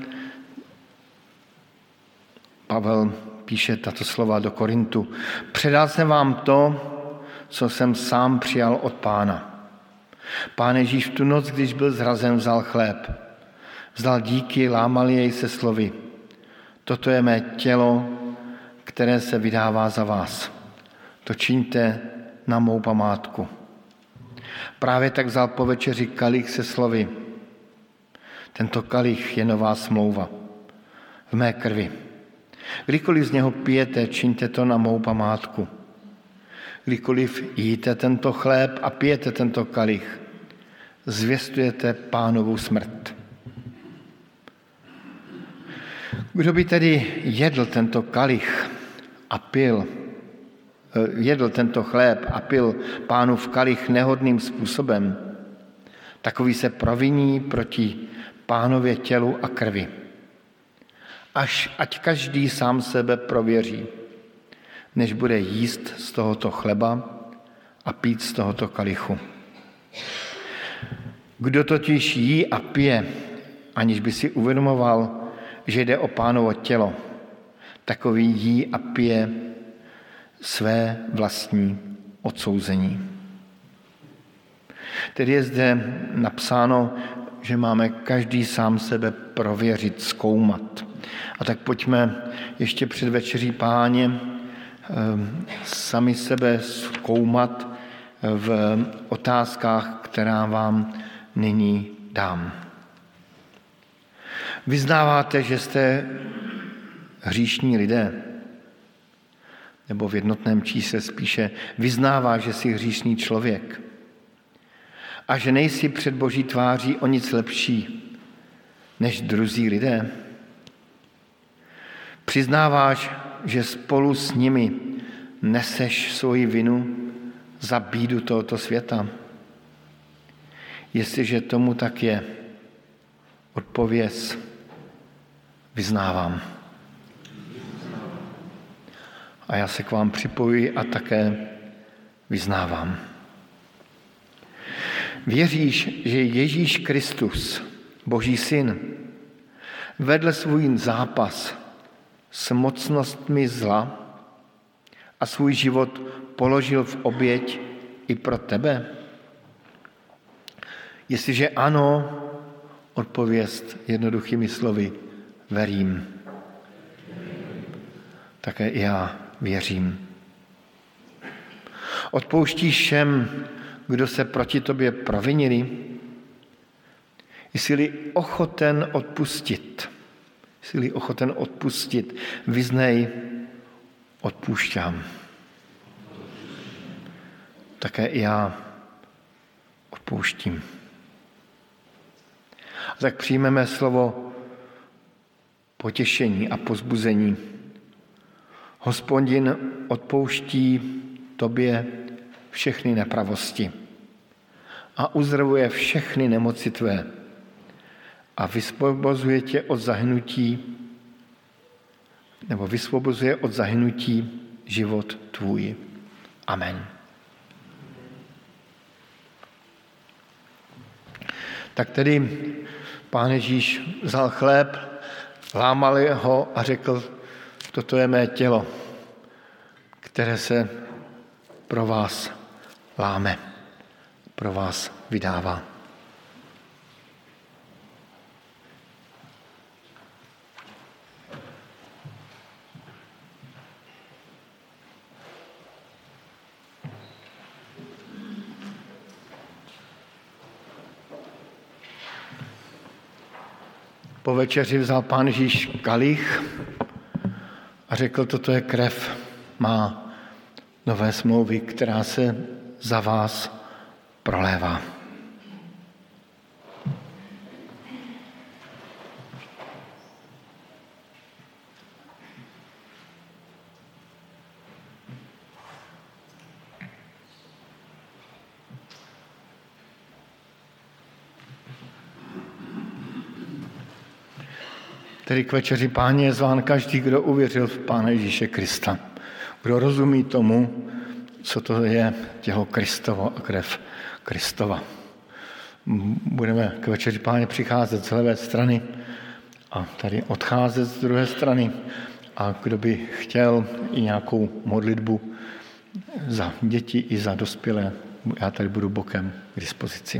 Pavel píše tato slova do Korintu. Předal jsem vám to, co jsem sám přijal od Pána. Pán Ježíš v tu noc, když byl zrazen, vzal chléb. Vzal díky, lámal jej se slovy. Toto je mé tělo, které se vydává za vás. To čiňte na mou památku. Právě tak vzal po večeři kalich se slovy. Tento kalich je nová smlouva v mé krvi. Kdykoliv z něho pijete, čiňte to na mou památku. Kdykoliv jíte tento chléb a pijete tento kalich, zvěstujete Pánovu smrt. Kdo by tedy jedl tento kalich a pil jedl tento chléb a pil Pánův kalich nehodným způsobem, takový se proviní proti Pánově tělu a krvi. Až ať každý sám sebe prověří, než bude jíst z tohoto chleba a pít z tohoto kalichu. Kdo totiž jí a pije, aniž by si uvědomoval, že jde o Pánovo tělo, takový jí a pije své vlastní odsouzení. Tedy je zde napsáno, že máme každý sám sebe prověřit, zkoumat. A tak pojďme ještě před Večeří Páně sami sebe zkoumat v otázkách, která vám nyní dám. Vyznáváte, že jste hříšní lidé? Nebo v jednotném čísle spíše vyznává, že jsi hříšný člověk a že nejsi před Boží tváří o nic lepší než druzí lidé. Přiznáváš, že spolu s nimi neseš svoji vinu za bídu tohoto světa. Jestliže tomu tak je, odpověz, vyznávám. A já se k vám připojuji a také vyznávám. Věříš, že Ježíš Kristus, Boží syn, vedl svůj zápas s mocnostmi zla a svůj život položil v oběť i pro tebe? Jestliže ano, odpověz jednoduchými slovy, verím. Také i já věřím. Odpouštíš všem, kdo se proti tobě provinili? Jsi-li ochoten odpustit, jsi-li ochoten odpustit, vyznej, odpoušťám. Také i já odpouštím. A tak přijmeme slovo potěšení a povzbuzení. Hospodin odpouští tobě všechny nepravosti a uzdravuje všechny nemoci tvé a vysvobozuje tě od zahynutí nebo vysvobozuje od zahynutí život tvůj. Amen. Tak tedy Pán Ježíš vzal chléb, lámal ho a řekl, toto je mé tělo, které se pro vás láme, pro vás vydává. Po večeři vzal Pán Ježíš kalich a řekl, toto je krev má nové smlouvy, která se za vás prolévá. Tedy k večeři Páně je zván každý, kdo uvěřil v Pána Ježíše Krista. Kdo rozumí tomu, co to je tělo Kristovo a krev Kristova. Budeme k večeři Páně přicházet z levé strany a tady odcházet z druhé strany. A kdo by chtěl i nějakou modlitbu za děti i za dospělé, já tady budu bokem k dispozici.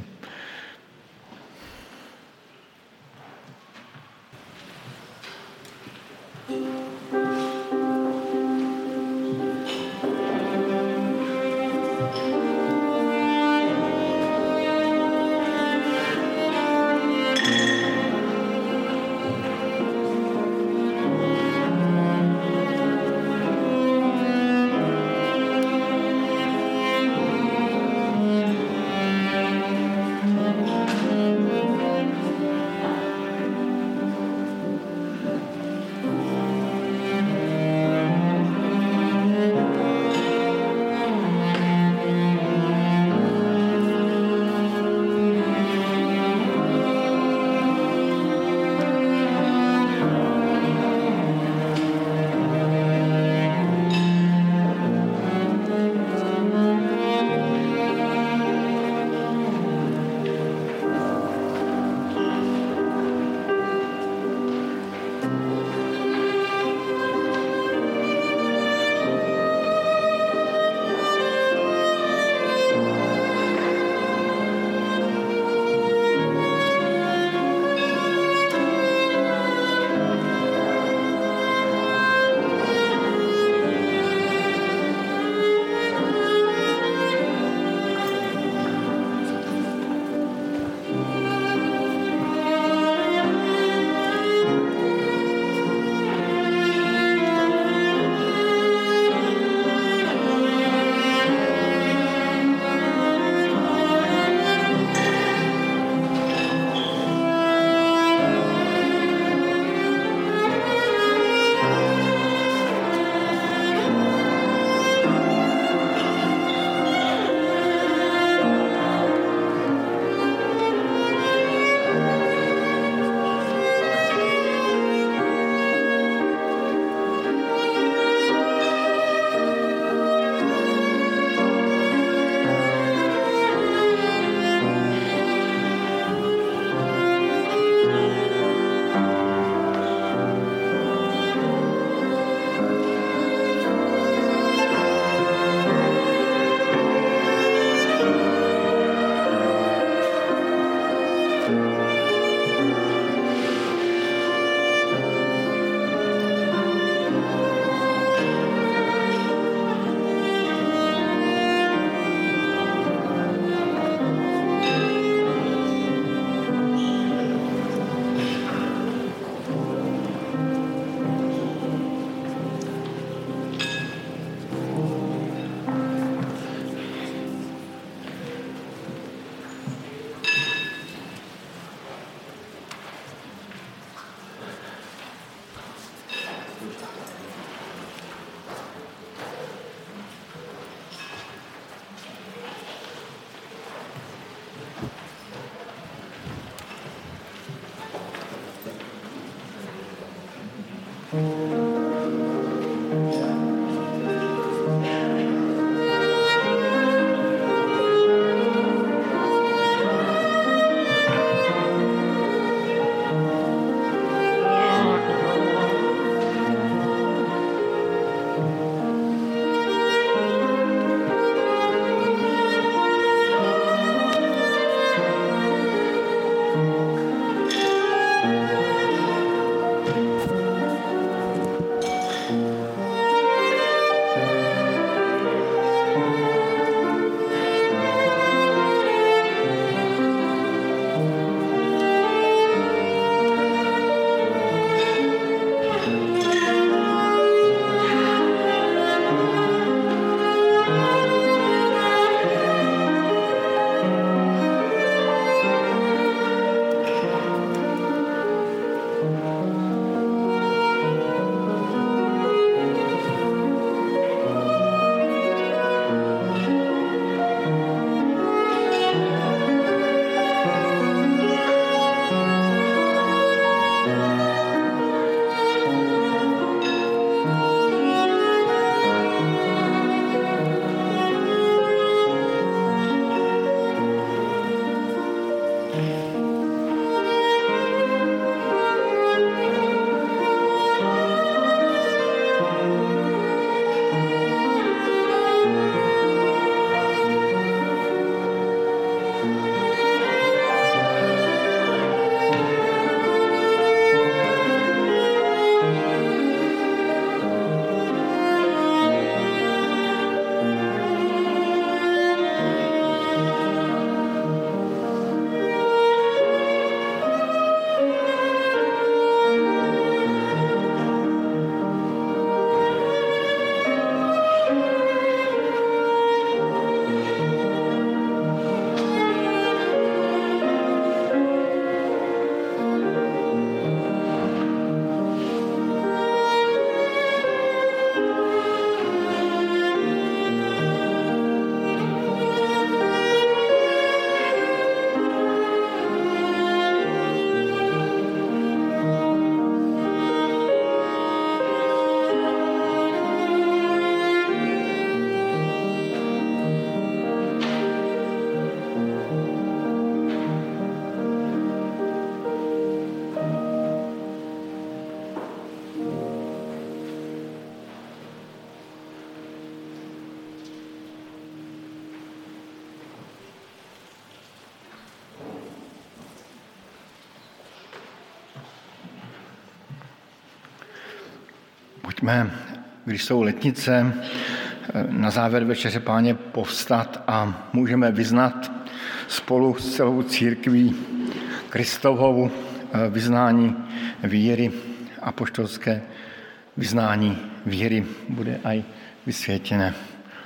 Pojďme, když jsou letnice, na závěr večeře Páně povstat a můžeme vyznat spolu s celou církví Kristovou vyznání víry, apoštolské vyznání víry bude aj vysvětěné.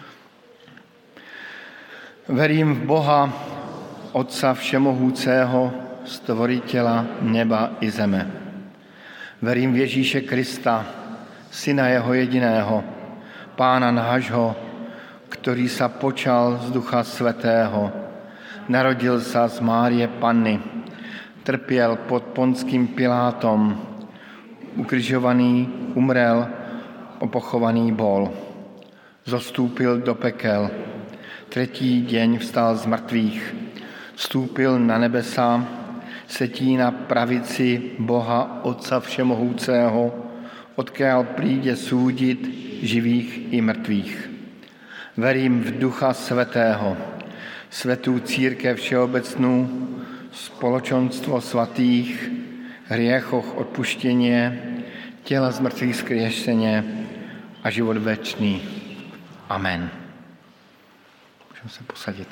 Verím v Boha, Otca všemohoucého, stvoritela neba i zeme. Verím v Ježíše Krista, Syna jeho jediného, Pána nášho, ktorý sa počal z Ducha Svätého, narodil sa z Márie Panny, trpěl pod Ponským Pilátom, ukrižovaný, umrel, opochovaný bol, zostúpil do pekel, tretí deň vstal z mrtvých, vstúpil na nebesa, setí na pravici Boha Otca všemohúceho, odkiaľ príde súdiť živých i mrtvých. Verím v Ducha Svätého, svätú církev všeobecnú, spoločenstvo svatých, hriechoch odpuštenie, tela z mŕtvych skriešenie a život večný. Amen. Můžeme se posadit.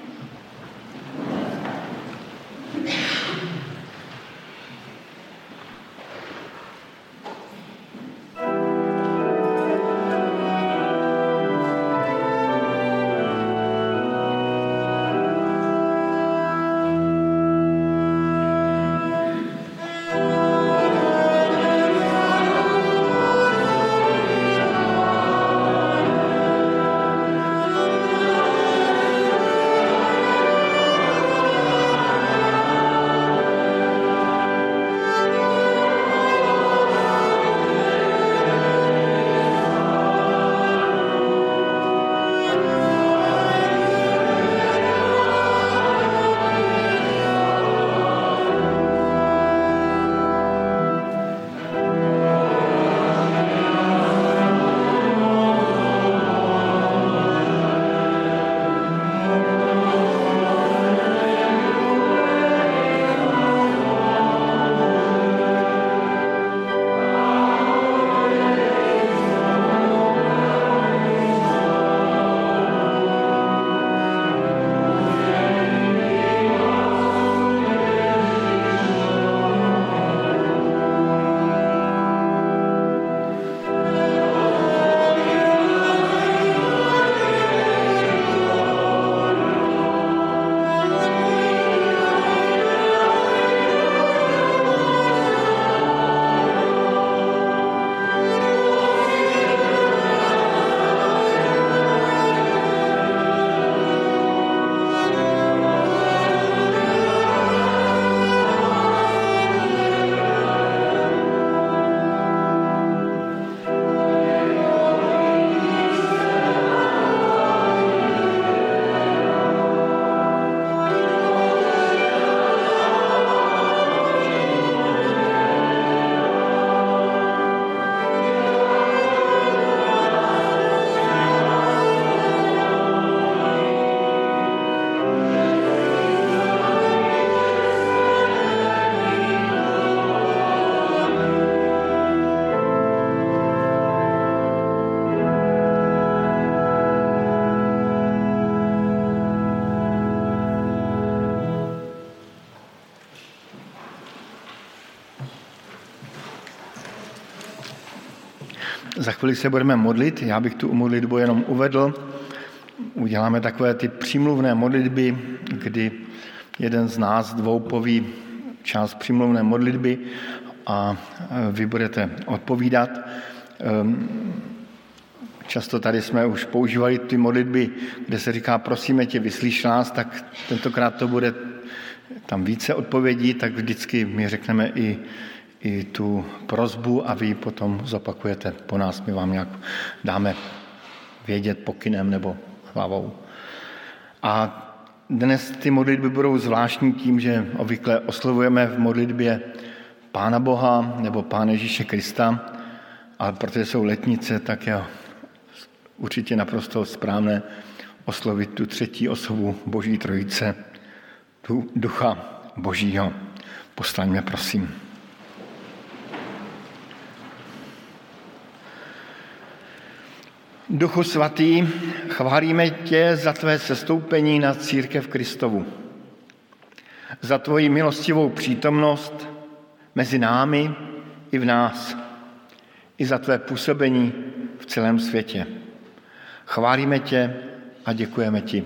Za chvíli se budeme modlit, já bych tu modlitbu jenom uvedl. Uděláme takové ty přímluvné modlitby, kdy jeden z nás dvou poví část přímluvné modlitby a vy budete odpovídat. Často tady jsme už používali ty modlitby, kde se říká prosíme tě, vyslíš nás, tak tentokrát to bude tam více odpovědí, tak vždycky my řekneme i i tu prosbu a vy potom zopakujete po nás, my vám nějak dáme vědět pokynem nebo hlavou. A dnes ty modlitby budou zvláštní tím, že obvykle oslovujeme v modlitbě Pána Boha nebo Pána Ježíše Krista, ale protože jsou letnice, tak je určitě naprosto správné oslovit tu třetí osobu Boží Trojice, tu Ducha Božího. Postaňme, prosím. Duchu svatý, chválíme tě za tvé sestoupení na církev Kristovu, za tvoji milostivou přítomnost mezi námi i v nás, i za tvé působení v celém světě. Chválíme tě a děkujeme ti.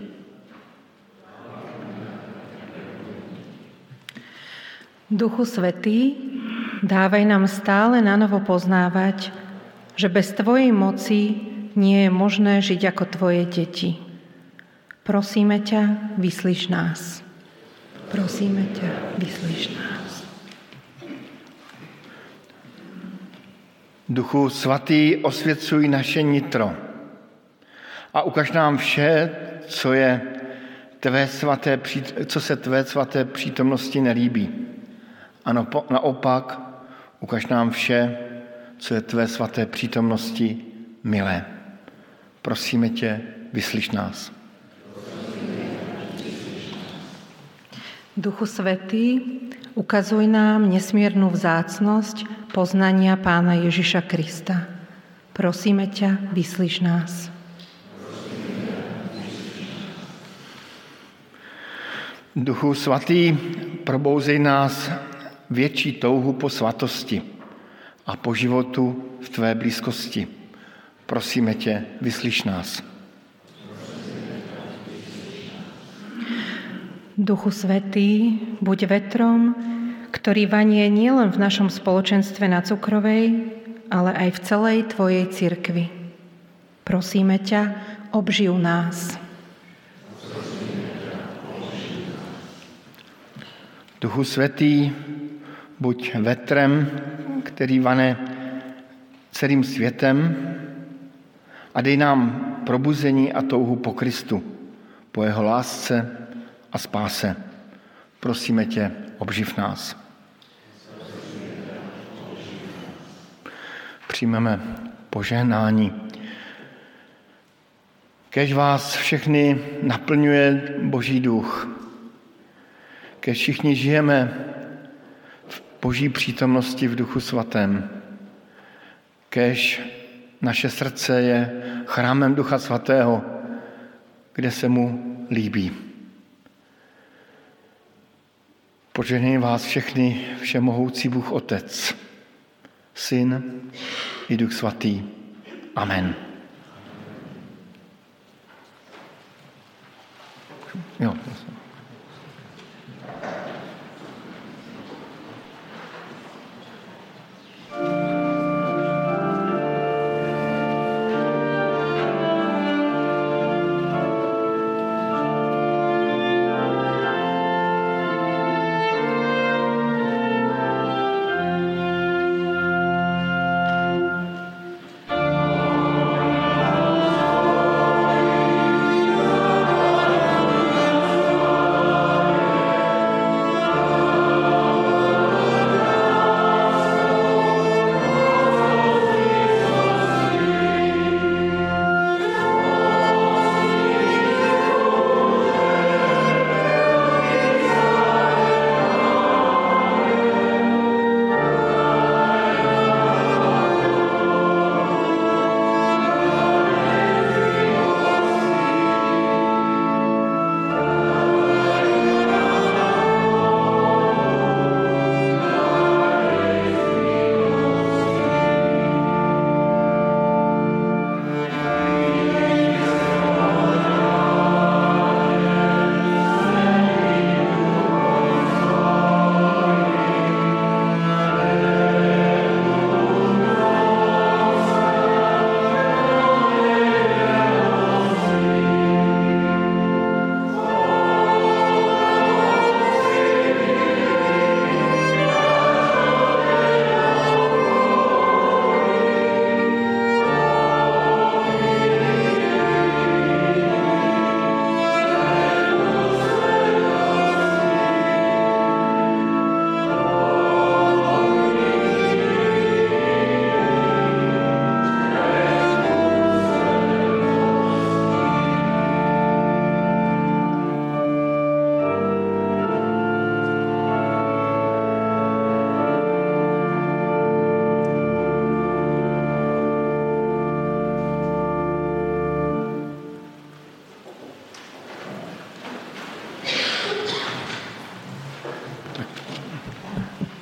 Duchu Svätý, dávaj nám stále na novo poznávať, že bez tvojej moci nie je možné žiť ako tvoje deti. Prosíme ťa, vyslíš nás. Prosíme ťa, vyslíš nás. Duchu svatý, osvěcuj naše nitro a ukaž nám vše, co, je tvé svaté, co se tvé svaté přítomnosti nelíbí. Ano, naopak, ukaž nám vše, co je tvé svaté přítomnosti milé. Prosíme tě, vyslíš nás. Duchu Svätý, ukazuj nám nesmiernu vzácnosť poznania Pána Ježiša Krista. Prosíme ťa, vyslíš nás. Duchu Svatý, probouzej nás větší touhu po svatosti a po životu v tvé blízkosti. Prosíme tě, vyslíš nás. Duchu Svätý, buď vetrom, ktorý vanie nielen v našom spoločenstve na Cukrovej, ale aj v celej tvojej cirkvi. Prosíme ťa, obživ nás. Duchu Svätý, buď vetrem, který vane celým světem a dej nám probuzení a touhu po Kristu, po jeho lásce a spáse. Prosíme tě, obživ nás. Přijmeme požehnání. Kéž vás všechny naplňuje Boží duch. Kéž všichni žijeme v Boží přítomnosti v Duchu Svatém. Kéž naše srdce je chrámem Ducha Svatého, kde se mu líbí. Požehnej vás všechny všemohoucí Bůh Otec, Syn i Duch Svatý. Amen. Jo.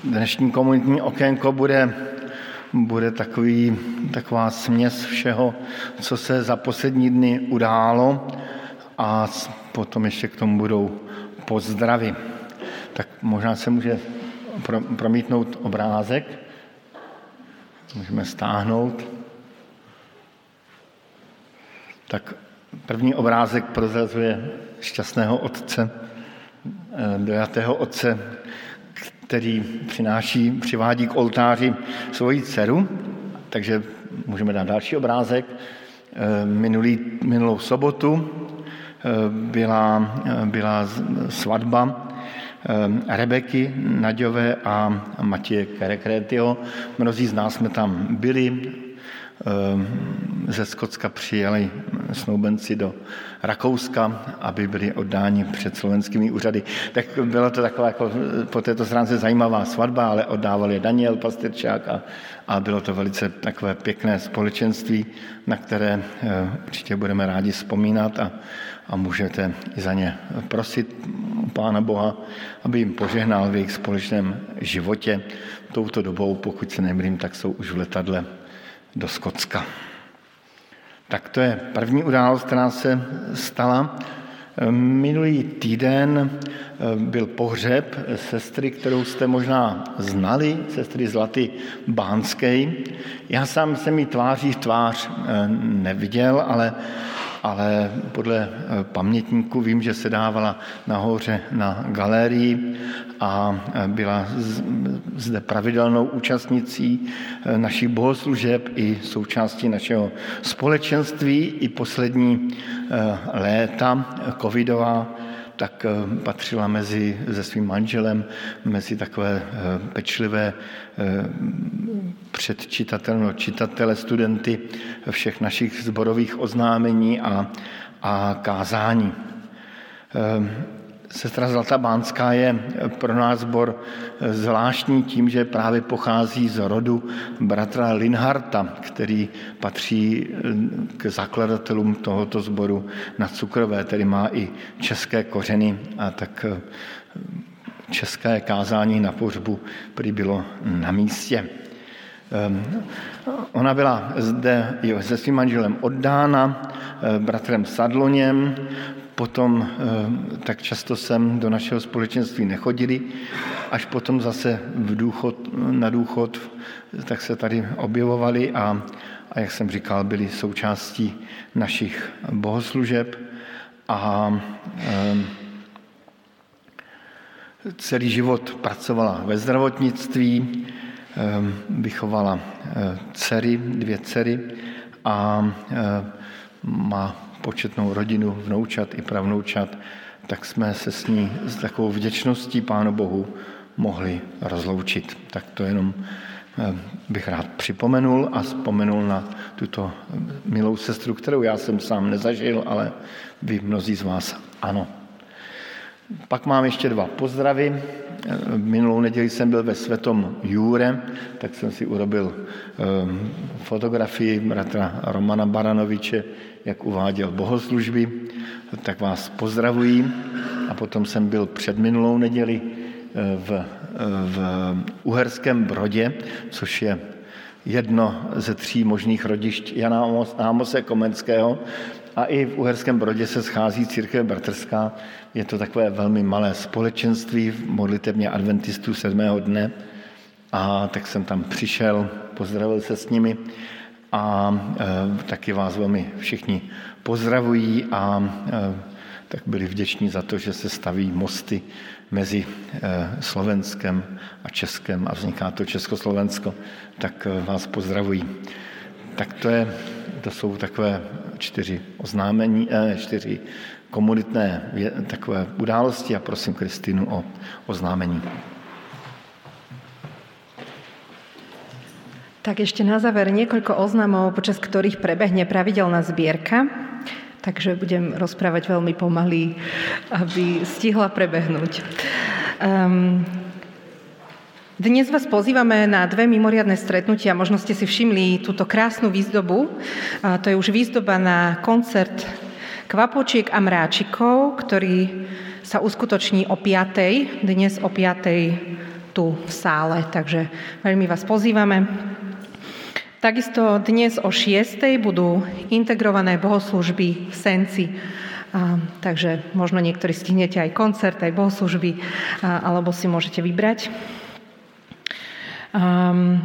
Dnešní komunitní okénko bude, bude takový, taková směs všeho, co se za poslední dny událo a potom ještě k tomu budou pozdravy. Tak možná se může promítnout obrázek. Můžeme stáhnout. Tak první obrázek prozrazuje šťastného otce, dojatého otce, který přináší, přivádí k oltáři svoji dceru. Takže můžeme dát další obrázek. Minulý, minulou sobotu byla, byla svatba Rebeky Naďové a Matěje Kerekrétyho. Mnozí z nás jsme tam byli. Ze Skotska přijeli snoubenci do Rakouska, aby byli oddáni před slovenskými úřady. Tak byla to taková jako po této stránce zajímavá svatba, ale oddával je Daniel Pastyrčák a, a bylo to velice takové pěkné společenství, na které určitě budeme rádi vzpomínat a, a můžete i za ně prosit Pána Boha, aby jim požehnal v jejich společném životě. Touto dobou, pokud se nemýlím, tak jsou už v letadle do Skotska. Tak to je první událost, která se stala. Minulý týden byl pohřeb sestry, kterou jste možná znali, sestry Zlaty Bánské. Já sám jsem ji tváří v tvář neviděl, ale, ale podle pamětníků vím, že se dávala nahoře na galerii a byla zde pravidelnou účastnicí našich bohoslužeb i součástí našeho společenství. I poslední léta covidová tak patřila mezi, se svým manželem mezi takové pečlivé předčitatelné čitatele, studenty všech našich sborových oznámení a, a kázání. Sestra Zlatá Bánská je pro nás sbor zvláštní tím, že právě pochází z rodu bratra Linharta, který patří k zakladatelům tohoto sboru na Cukrové, tedy má i české kořeny a tak české kázání na pohřbu prý bylo na místě. Ona byla zde se svým manželem oddána, bratrem Sadloněm, potom tak často sem do našeho společenství nechodili, až potom zase v důchod, na důchod tak se tady objevovali a, a jak jsem říkal, byli součástí našich bohoslužeb a e, celý život pracovala ve zdravotnictví, e, vychovala e, dcery, dvě dcery a e, má početnou rodinu, vnoučat i pravnoučat, tak jsme se s ní s takovou vděčností Pánu Bohu mohli rozloučit. Tak to jenom bych rád připomenul a vzpomenul na tuto milou sestru, kterou já jsem sám nezažil, ale vy mnozí z vás ano. Pak mám ještě dva pozdravy. Minulou neděli jsem byl ve Svetom Jure, tak jsem si urobil fotografii bratra Romana Baranoviče, jak uváděl bohoslužby, tak vás pozdravuji. A potom jsem byl před minulou neděli v, v Uherském Brodě, což je jedno ze tří možných rodišť Jana Ámose Komenského. A i v Uherském Brodě se schází církev bratrská. Je to takové velmi malé společenství v modlitebně adventistů sedmého dne. A tak jsem tam přišel, pozdravil se s nimi a e, taky vás velmi všichni pozdravují a e, tak byli vděční za to, že se staví mosty mezi e, Slovenskem a Českem a vzniká to Československo, tak e, vás pozdravují. Tak to, je, to jsou takové čtyři oznámení, e, čtyři komunitné takové události a prosím Kristýnu o oznámení. Tak ešte na záver niekoľko oznamov, počas ktorých prebehne pravidelná zbierka, takže budem rozprávať veľmi pomaly, aby stihla prebehnúť. Um, dnes vás pozývame na dve mimoriadne stretnutia, možno ste si všimli túto krásnu výzdobu. A to je už výzdoba na koncert Kvapočiek a mráčikov, ktorý sa uskutoční o piatej, dnes o piatej tu v sále, takže veľmi vás pozývame. Takisto dnes o šiestej budú integrované bohoslúžby v Senci. A, takže možno niektorí stihnete aj koncert, aj bohoslúžby, a, alebo si môžete vybrať. Um,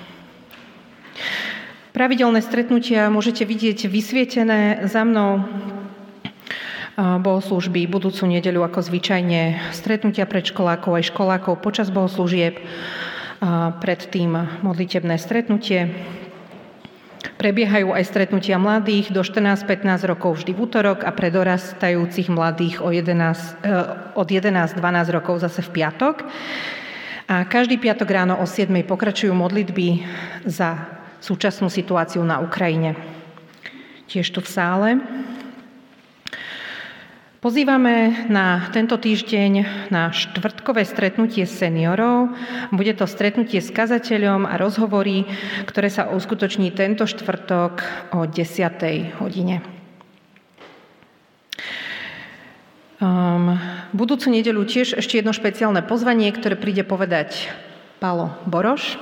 pravidelné stretnutia môžete vidieť vysvietené za mnou. Bohoslúžby budúcu nedeľu ako zvyčajne, stretnutia predškolákov aj školákov počas bohoslúžieb, predtým modlitebné stretnutie. Prebiehajú aj stretnutia mladých do štrnásť pätnásť rokov vždy v útorok a pre dorastajúcich mladých od jedenásť dvanásť rokov zase v piatok. A každý piatok ráno o siedmej pokračujú modlitby za súčasnú situáciu na Ukrajine. Tiež tu v sále. Pozývame na tento týždeň na štvrtkové stretnutie seniorov. Bude to stretnutie s kazateľom a rozhovory, ktoré sa uskutoční tento štvrtok o desiatej hodine. Um, budúcu nedeľu tiež ešte jedno špeciálne pozvanie, ktoré príde povedať Pálo Boroš.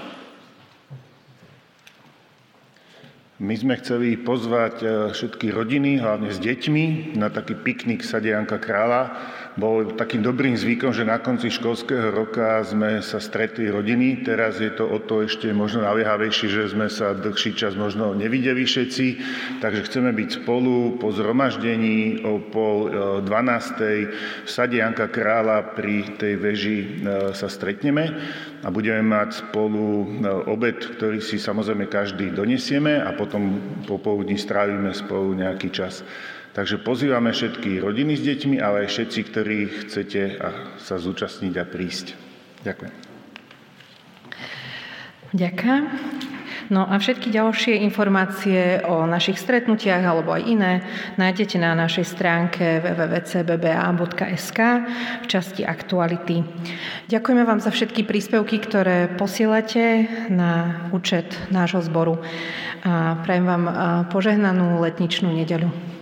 My sme chceli pozvať všetky rodiny, hlavne s deťmi, na taký piknik v sade Janka Krála. Bol takým dobrým zvykom, že na konci školského roka sme sa stretli rodiny. Teraz je to o to ešte možno naliehavejšie, že sme sa dlhší čas možno nevideli všetci. Takže chceme byť spolu po zhromaždení o pol dvanástej v sade Janka Krála pri tej veži sa stretneme a budeme mať spolu obed, ktorý si samozrejme každý donesieme a potom popoludní strávime spolu nejaký čas. Takže pozývame všetky rodiny s deťmi, ale aj všetci, ktorí chcete sa zúčastniť a prísť. Ďakujem. Ďakujem. No a všetky ďalšie informácie o našich stretnutiach alebo aj iné nájdete na našej stránke w w w bodka c b b a bodka s k v časti aktuality. Ďakujeme vám za všetky príspevky, ktoré posielate na účet nášho zboru. A prajem vám požehnanú letničnú nedeľu.